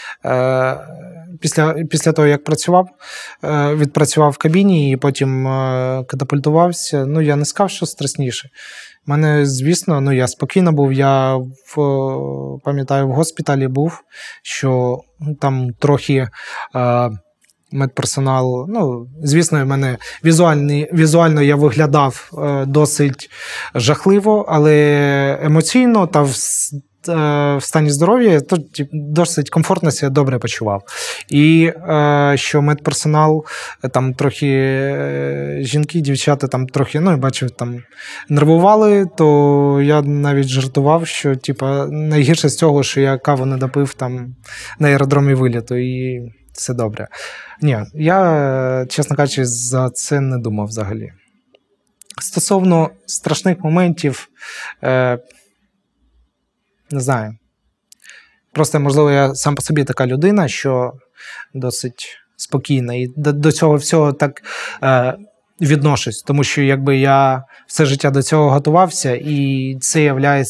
Після того, як відпрацював в кабіні і потім катапультувався, я не сказав, що страшніше. У мене, звісно, я спокійно був, я пам'ятаю, в госпіталі був, що там трохи медперсонал, звісно, в мене візуально я виглядав досить жахливо, але емоційно та в стані здоров'я досить комфортно себе добре почував. І що медперсонал, там трохи жінки, дівчата там трохи, я бачив, там нервували, то я навіть жартував, що найгірше з цього, що я каву не допив там на аеродромі виліту, і все добре. Ні, я, чесно кажучи, за це не думав взагалі. Стосовно страшних моментів, не знаю. Просто, можливо, я сам по собі така людина, що досить спокійна. І до цього всього так відношусь. Тому що я все життя до цього готувався, і це є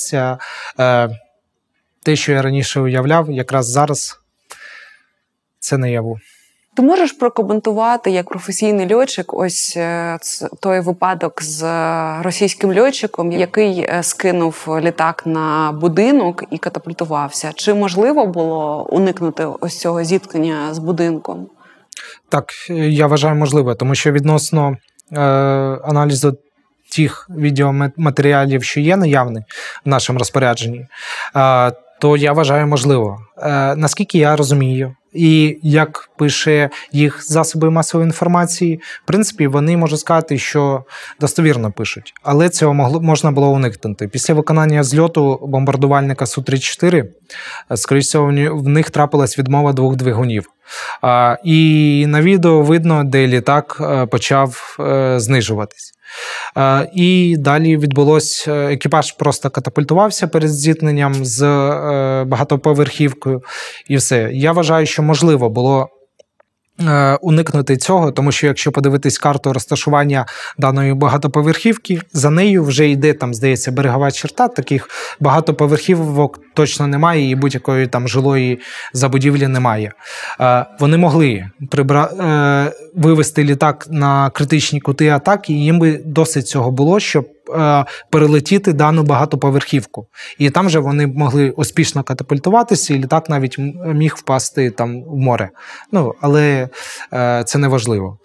те, що я раніше уявляв, якраз зараз це наяву. Ти можеш прокоментувати, як професійний льотчик, ось той випадок з російським льотчиком, який скинув літак на будинок і катапультувався? Чи можливо було уникнути ось цього зіткнення з будинком? Так, я вважаю можливо, тому що відносно аналізу тих відеоматеріалів, що є наявні в нашому розпорядженні, то я вважаю можливо. Наскільки я розумію, і як пише їх засоби масової інформації, в принципі, вони можуть сказати, що достовірно пишуть. Але цього можна було уникнути. Після виконання зльоту бомбардувальника Су-34, скоріше всього, в них трапилась відмова 2 двигунів. І на відео видно, де літак почав знижуватись. І далі відбулось, екіпаж просто катапультувався перед зіткненням з багатоповерхівкою і все. Я вважаю, що можливо було уникнути цього, тому що якщо подивитись карту розташування даної багатоповерхівки, за нею вже йде, там, здається, берегова черта, таких багатоповерхівок точно немає і будь-якої там жилої забудівлі немає. Вони могли вивести літак на критичні кути атаки, і їм би досить цього було, щоб перелетіти дану багатоповерхівку. І там же вони могли успішно катапультуватися, і літак навіть міг впасти там в море. Але це не важливо.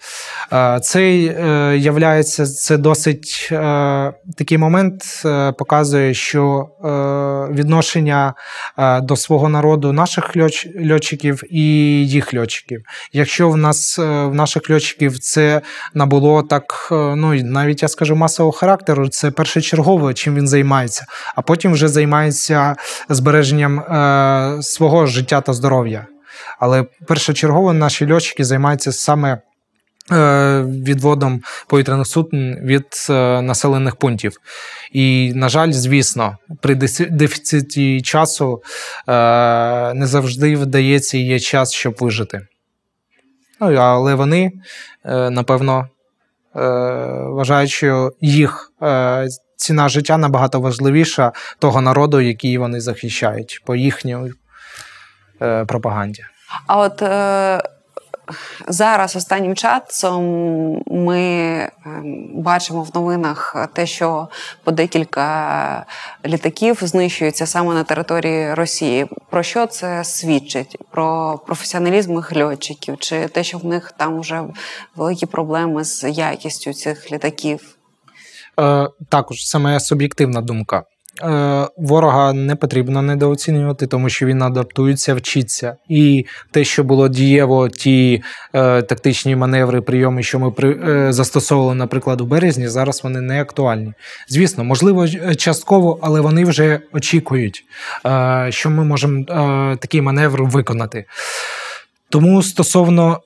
Це досить такий момент показує, що відношення до свого народу наших льотчиків і їх льотчиків. Якщо в наших льотчиків це набуло так, навіть я скажу, масового характеру, це першочергово, чим він займається, а потім вже займається збереженням свого життя та здоров'я. Але першочергово наші льотчики займаються саме відводом повітряних суден від населених пунктів. І, на жаль, звісно, при дефіциті часу не завжди вдається і є час, щоб вижити. Але вони, напевно, вважають, що їх ціна життя набагато важливіша того народу, який вони захищають, по їхній пропаганді. А от зараз останнім часом ми бачимо в новинах те, що по декілька літаків знищуються саме на території Росії. Про що це свідчить? Про професіоналізм їх льотчиків? Чи те, що в них там вже великі проблеми з якістю цих літаків? Також, це моя суб'єктивна думка. Ворога не потрібно недооцінювати, тому що він адаптується, вчиться. І те, що було дієво, ті тактичні маневри, прийоми, що ми застосовували, наприклад, у березні, зараз вони не актуальні. Звісно, можливо, частково, але вони вже очікують, що ми можемо такий маневр виконати. Тому стосовно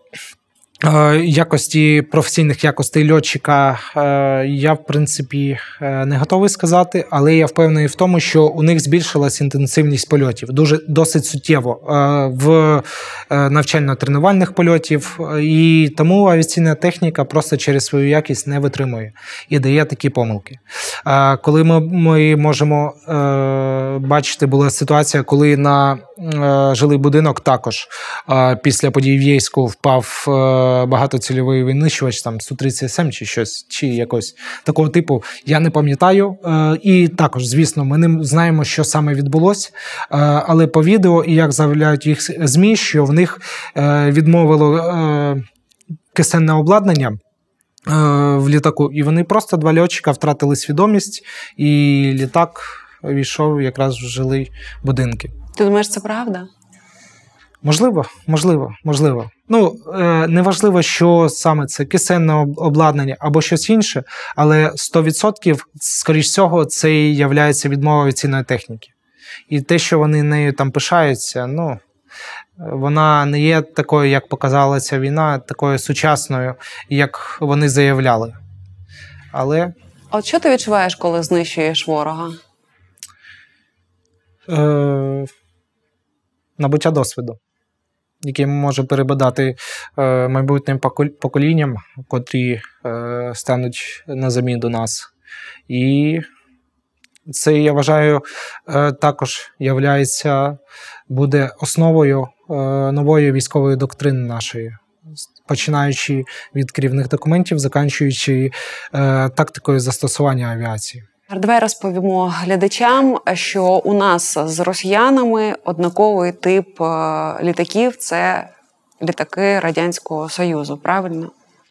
професійних якостей льотчика я, в принципі, не готовий сказати, але я впевнений в тому, що у них збільшилась інтенсивність польотів. Досить суттєво в навчально-тренувальних польотів, і тому авіаційна техніка просто через свою якість не витримує і дає такі помилки. Коли ми можемо бачити, була ситуація, коли на жилий будинок також після подій в Єйську впав багатоцільовий винищувач, там Су-30СМ чи щось, чи якось такого типу, я не пам'ятаю. І також, звісно, ми не знаємо, що саме відбулося, але по відео, і як заявляють їх ЗМІ, що в них відмовило кисенне обладнання в літаку, і вони просто, два льотчика, втратили свідомість, і літак війшов якраз в жилі будинки. Ти думаєш, це правда? Можливо. Неважливо, що саме це кисенне обладнання або щось інше, але 100%, скоріш всього, це і являється відмова авіаційної техніки. І те, що вони нею там пишаються, вона не є такою, як показала ця війна, такою сучасною, як вони заявляли. Але... От що ти відчуваєш, коли знищуєш ворога? Набуття досвіду, який може перебадати майбутнім поколінням, котрі стануть на заміну нас. І це, я вважаю, також буде основою нової військової доктрини нашої, починаючи від керівних документів, закінчуючи тактикою застосування авіації. Давай розповімо глядачам, що у нас з росіянами однаковий тип літаків – це літаки Радянського Союзу, правильно?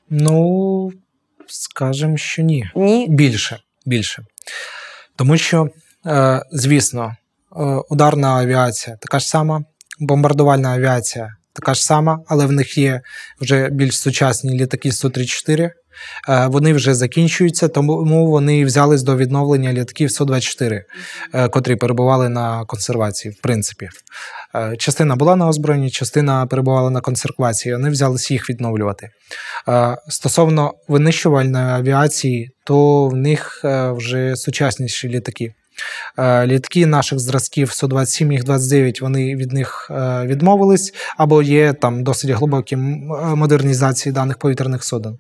Скажемо, що ні. Ні? Більше. Тому що, звісно, ударна авіація така ж сама, бомбардувальна авіація така ж сама, але в них є вже більш сучасні літаки Су-34. Вони вже закінчуються, тому вони взялись до відновлення літаків Су-24, котрі перебували на консервації, в принципі. Частина була на озброєнні, частина перебувала на консервації, вони взялись їх відновлювати. Стосовно винищувальної авіації, то в них вже сучасніші літаки. Літаки наших зразків Су-27, Міг-29, вони від них відмовились, або є там досить глибокі модернізації даних повітряних суден.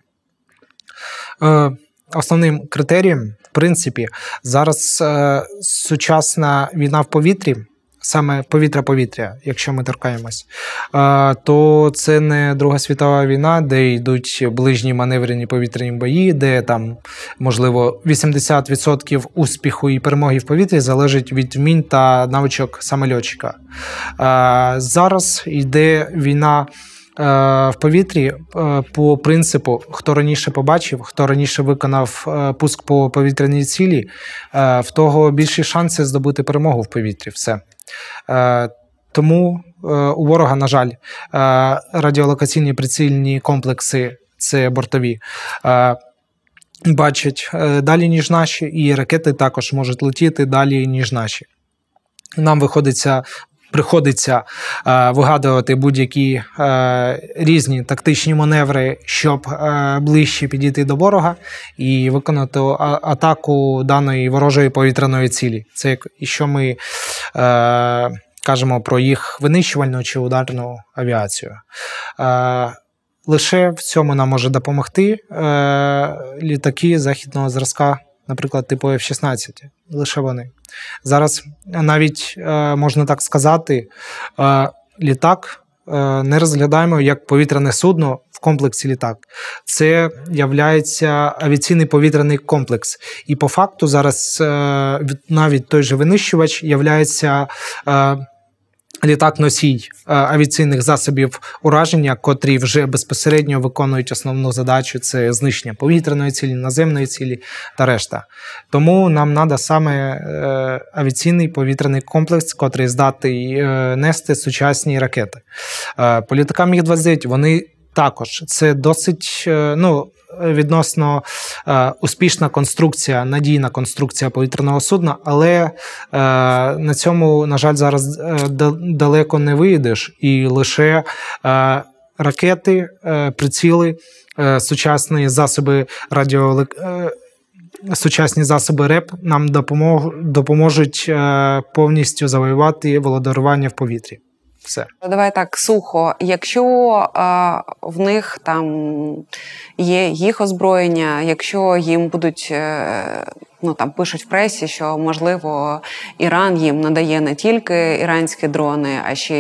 Основним критерієм, в принципі, зараз сучасна війна в повітрі саме повітря-повітря, якщо ми торкаємось, то це не Друга світова війна, де йдуть ближні маневрені повітряні бої, де там, можливо, 80% успіху і перемоги в повітрі залежить від вмінь та навичок саме льотчика. Зараз йде війна в повітрі по принципу, хто раніше побачив, хто раніше виконав пуск по повітряній цілі, в того більші шанси здобути перемогу в повітрі. Все. Тому у ворога, на жаль, радіолокаційні прицільні комплекси, це бортові, бачать далі, ніж наші, і ракети також можуть летіти далі, ніж наші. Нам приходиться вигадувати будь-які різні тактичні маневри, щоб ближче підійти до ворога і виконати атаку даної ворожої повітряної цілі. Це якщо ми кажемо про їх винищувальну чи ударну авіацію. Лише в цьому нам може допомогти літаки західного зразка, наприклад, типу F-16. Лише вони. Зараз навіть, можна так сказати, літак не розглядаємо як повітряне судно в комплексі літак. Це являється авіаційний повітряний комплекс. І по факту зараз навіть той же винищувач являється літак-носій авіаційних засобів ураження, котрі вже безпосередньо виконують основну задачу – це знищення повітряної цілі, наземної цілі та решта. Тому нам треба саме авіаційний повітряний комплекс, котрий здатний нести сучасні ракети. По літакам Міг-29 вони також. Це досить, відносно успішна конструкція, надійна конструкція повітряного судна, але на цьому, на жаль, зараз далеко не виїдеш, і лише ракети, приціли, сучасні засоби сучасні засоби РЕП нам допоможуть повністю завоювати володарювання в повітрі. Все. Давай так, сухо. Якщо в них там є їх озброєння, якщо їм будуть, пишуть в пресі, що, можливо, Іран їм надає не тільки іранські дрони, а ще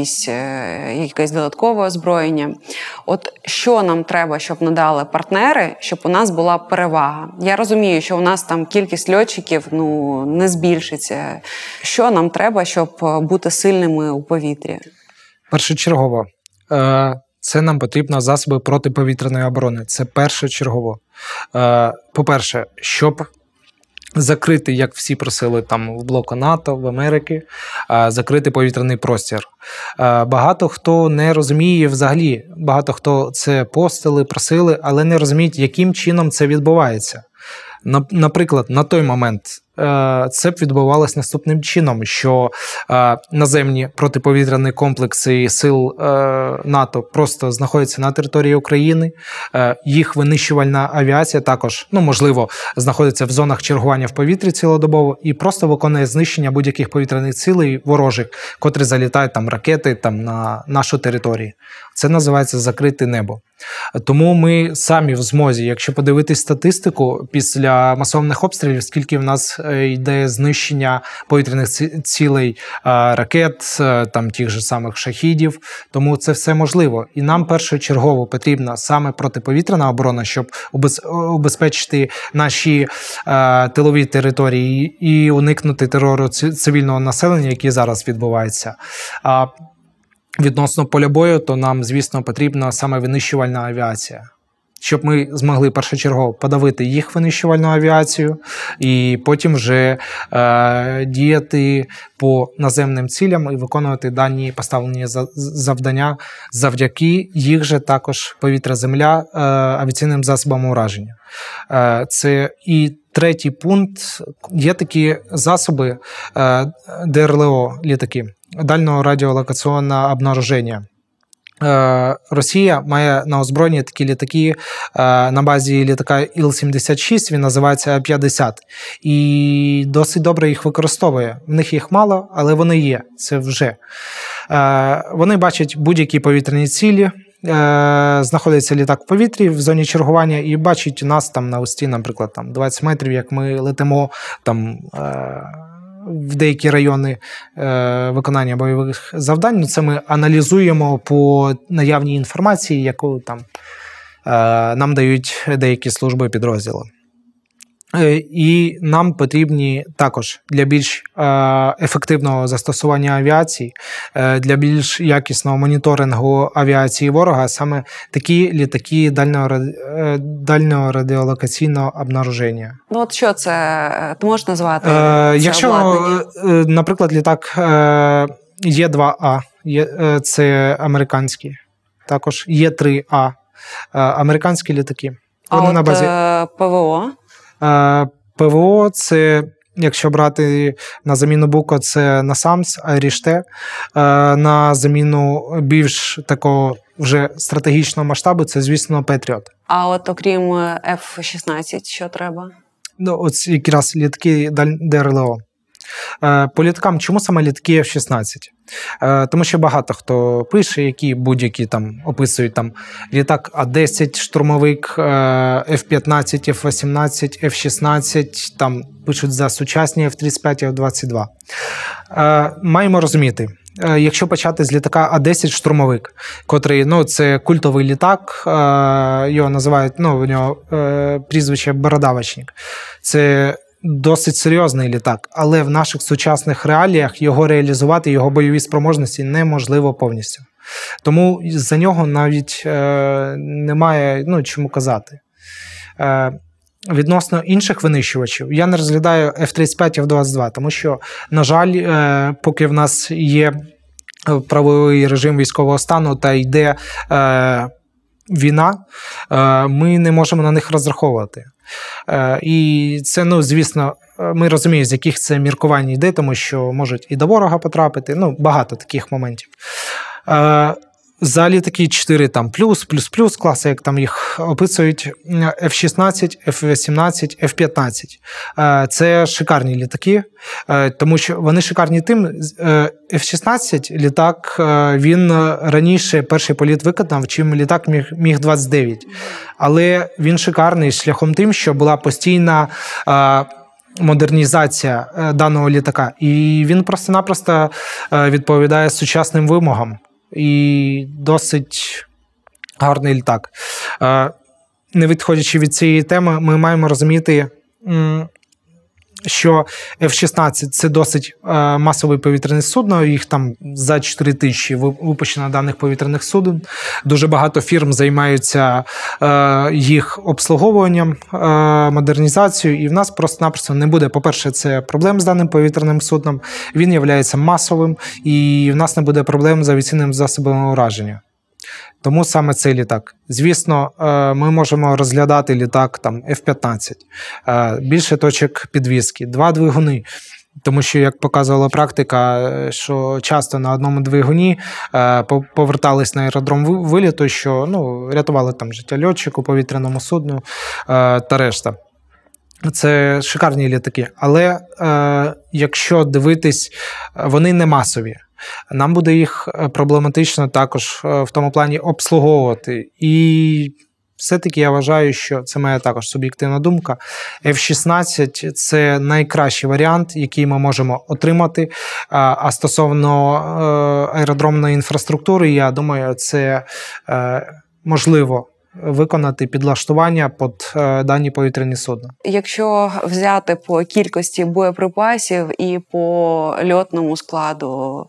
якесь додаткове озброєння. От що нам треба, щоб надали партнери, щоб у нас була перевага? Я розумію, що у нас там кількість льотчиків не збільшиться. Що нам треба, щоб бути сильними у повітрі? Першочергово. Це нам потрібно засоби протиповітряної оборони. Це першочергово. По-перше, щоб закрити, як всі просили там в блоку НАТО, в Америці, закрити повітряний простір. Багато хто не розуміє взагалі, багато хто це постили, просили, але не розуміють, яким чином це відбувається. Наприклад, на той момент це б відбувалося наступним чином, що наземні протиповітряні комплекси сил НАТО просто знаходяться на території України, їх винищувальна авіація також, можливо, знаходиться в зонах чергування в повітрі цілодобово і просто виконує знищення будь-яких повітряних цілей ворожих, котрі залітають там ракети на нашу територію. Це називається закрите небо. Тому ми самі в змозі, якщо подивитись статистику після масованих обстрілів, скільки в нас йде знищення повітряних цілей, ракет, там тих же самих шахідів, тому це все можливо. І нам першочергово потрібна саме протиповітряна оборона, щоб убезпечити наші тилові території і уникнути терору цивільного населення, який зараз відбувається. Відносно поля бою, то нам, звісно, потрібна саме винищувальна авіація. Щоб ми змогли першочергово подавити їх винищувальну авіацію і потім вже діяти по наземним цілям і виконувати дані поставлені завдання завдяки їх же також повітря-земля авіаційним засобам ураження. Це і третій пункт. Є такі засоби ДРЛО, літаки, дальнього радіолокаційного обнаруження. Росія має на озброєнні такі літаки на базі літака Іл-76, він називається А-50, і досить добре їх використовує. В них їх мало, але вони є, це вже. Вони бачать будь-які повітряні цілі, знаходиться літак в повітрі в зоні чергування і бачить нас там на висоті, наприклад, 20 метрів, як ми летимо там в деякі райони виконання бойових завдань. Це ми аналізуємо по наявній інформації, яку там нам дають деякі служби підрозділи. І нам потрібні також для більш ефективного застосування авіації, для більш якісного моніторингу авіації ворога саме такі літаки дальнього радіолокаційного обнаруження. Ну от що це? Ти можеш назвати? Якщо, наприклад, літак Є2А, це американський, також Є3А, американські літаки. Вони на базі ПВО? ПВО – це, якщо брати на заміну Буко, це NASAMS, Айріш-Т. На заміну більш такого вже стратегічного масштабу – це, звісно, Петріот. А от окрім F-16, що треба? Ну, от якраз літаки ДРЛО. По літакам, чому саме літаки F-16? Тому що багато хто пише, які будь-які там описують там літак А-10, штурмовик, F-15, F-18, F-16, там пишуть за сучасні F-35, F-22. Маємо розуміти, якщо почати з літака А-10 штурмовик, котрий, ну, це культовий літак, його називають, ну, у нього прізвище Бородавочник. Це досить серйозний літак, але в наших сучасних реаліях його реалізувати, його бойові спроможності неможливо повністю. Тому за нього навіть немає, ну, чому казати. Відносно інших винищувачів, я не розглядаю F-35, F-22, тому що, на жаль, поки в нас є правовий режим військового стану та йде війна, ми не можемо на них розраховувати. І це, ну, звісно, ми розуміємо, з яких це міркувань йде, тому що можуть і до ворога потрапити, ну, багато таких моментів. За літаки 4 там плюс класи, як там їх описують, F-16, F-18, F-15. Це шикарні літаки, тому що вони шикарні тим. F-16 літак, він раніше перший політ виконав, чим літак Міг-29. Але він шикарний шляхом тим, що була постійна модернізація даного літака. І він просто-напросто відповідає сучасним вимогам. І досить гарний літак. Не відходячи від цієї теми, ми маємо розуміти, що F-16 – це досить масове повітряне судно, їх там за 4 тисячі випущено даних повітряних суден. Дуже багато фірм займаються їх обслуговуванням, модернізацією, і в нас просто-напросто не буде, по-перше, це проблем з даним повітряним судном, він є масовим, і в нас не буде проблем з авіаційними засобами ураження. Тому саме цей літак. Звісно, ми можемо розглядати літак там F-15, більше точок підвіски, 2 двигуни. Тому що, як показувала практика, що часто на одному двигуні повертались на аеродром виліту, що, ну, рятували там життя льотчику, повітряному судну та решта. Це шикарні літаки. Але якщо дивитись, вони не масові. Нам буде їх проблематично також в тому плані обслуговувати. І все-таки я вважаю, що це моя також суб'єктивна думка. F-16 – це найкращий варіант, який ми можемо отримати. А стосовно аеродромної інфраструктури, я думаю, це можливо виконати підлаштування під дані повітряні судна. Якщо взяти по кількості боєприпасів і по льотному складу,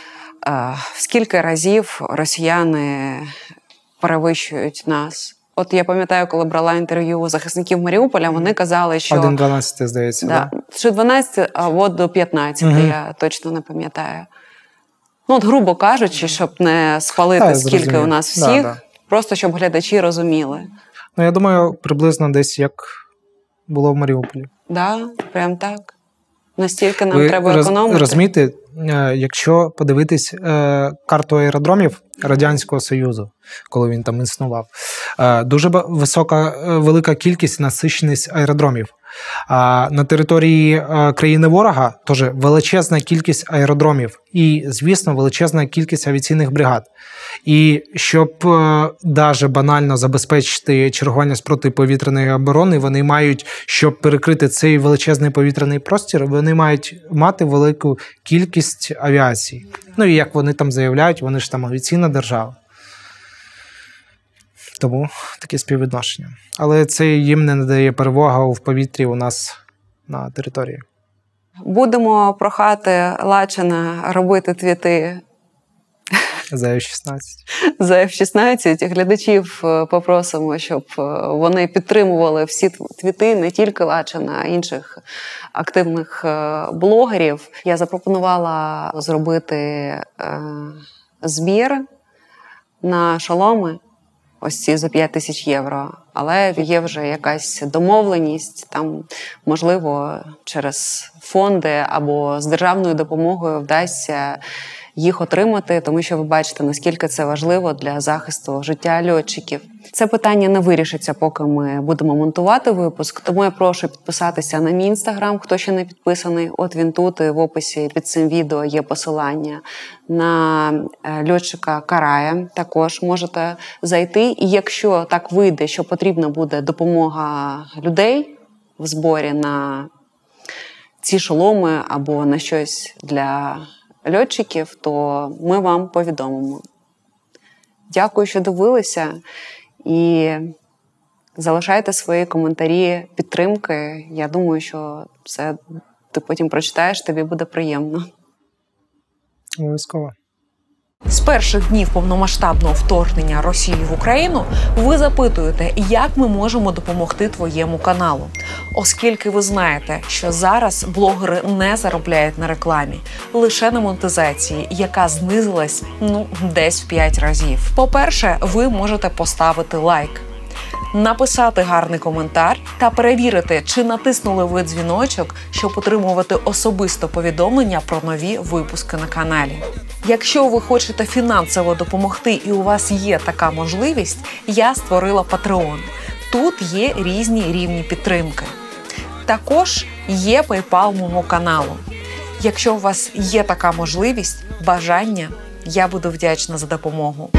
в скільки разів росіяни перевищують нас? От я пам'ятаю, коли брала інтерв'ю у захисників Маріуполя, вони казали, що 1-12, здається. Да, що 12 або до 15, я точно не пам'ятаю. Ну, от, грубо кажучи, щоб не спалити скільки у нас всіх, просто щоб глядачі розуміли. Ну, я думаю, приблизно десь як було в Маріуполі. Да, прям так. Настільки нам треба економити. Розумієте, якщо подивитись карту аеродромів Радянського Союзу, коли він там існував, дуже велика кількість, насиченість аеродромів. А на території країни ворога теж величезна кількість аеродромів і, звісно, величезна кількість авіаційних бригад. І щоб навіть банально забезпечити чергування з протиповітряної оборони, вони мають, щоб перекрити цей величезний повітряний простір, вони мають мати велику кількість авіації. Ну і як вони там заявляють, вони ж там авіаційна держава. Тому таке співвідношення. Але це їм не надає перевагу в повітрі у нас на території. Будемо прохати Лачина робити твіти За F-16. за F-16. Глядачів попросимо, щоб вони підтримували всі твіти, не тільки Лачина, а інших активних блогерів. Я запропонувала зробити збір на шоломи, ось ці за 5 тисяч євро. Але є вже якась домовленість, там, можливо, через фонди або з державною допомогою вдасться їх отримати, тому що ви бачите, наскільки це важливо для захисту життя льотчиків. Це питання не вирішиться, поки ми будемо монтувати випуск, тому я прошу підписатися на мій інстаграм, хто ще не підписаний. От він тут, і в описі під цим відео є посилання на льотчика Карая. Також можете зайти, і якщо так вийде, що потрібна буде допомога людей в зборі на ці шоломи або на щось для льотчиків, то ми вам повідомимо. Дякую, що дивилися, і залишайте свої коментарі підтримки. Я думаю, що це ти потім прочитаєш, тобі буде приємно. Обов'язково. З перших днів повномасштабного вторгнення Росії в Україну ви запитуєте, як ми можемо допомогти твоєму каналу. Оскільки ви знаєте, що зараз блогери не заробляють на рекламі, лише на монетизації, яка знизилась, десь в 5 разів. По-перше, ви можете поставити лайк, написати гарний коментар та перевірити, чи натиснули ви дзвіночок, щоб отримувати особисто повідомлення про нові випуски на каналі. Якщо ви хочете фінансово допомогти і у вас є така можливість, я створила Patreon. Тут є різні рівні підтримки. Також є PayPal мого каналу. Якщо у вас є така можливість, бажання, я буду вдячна за допомогу.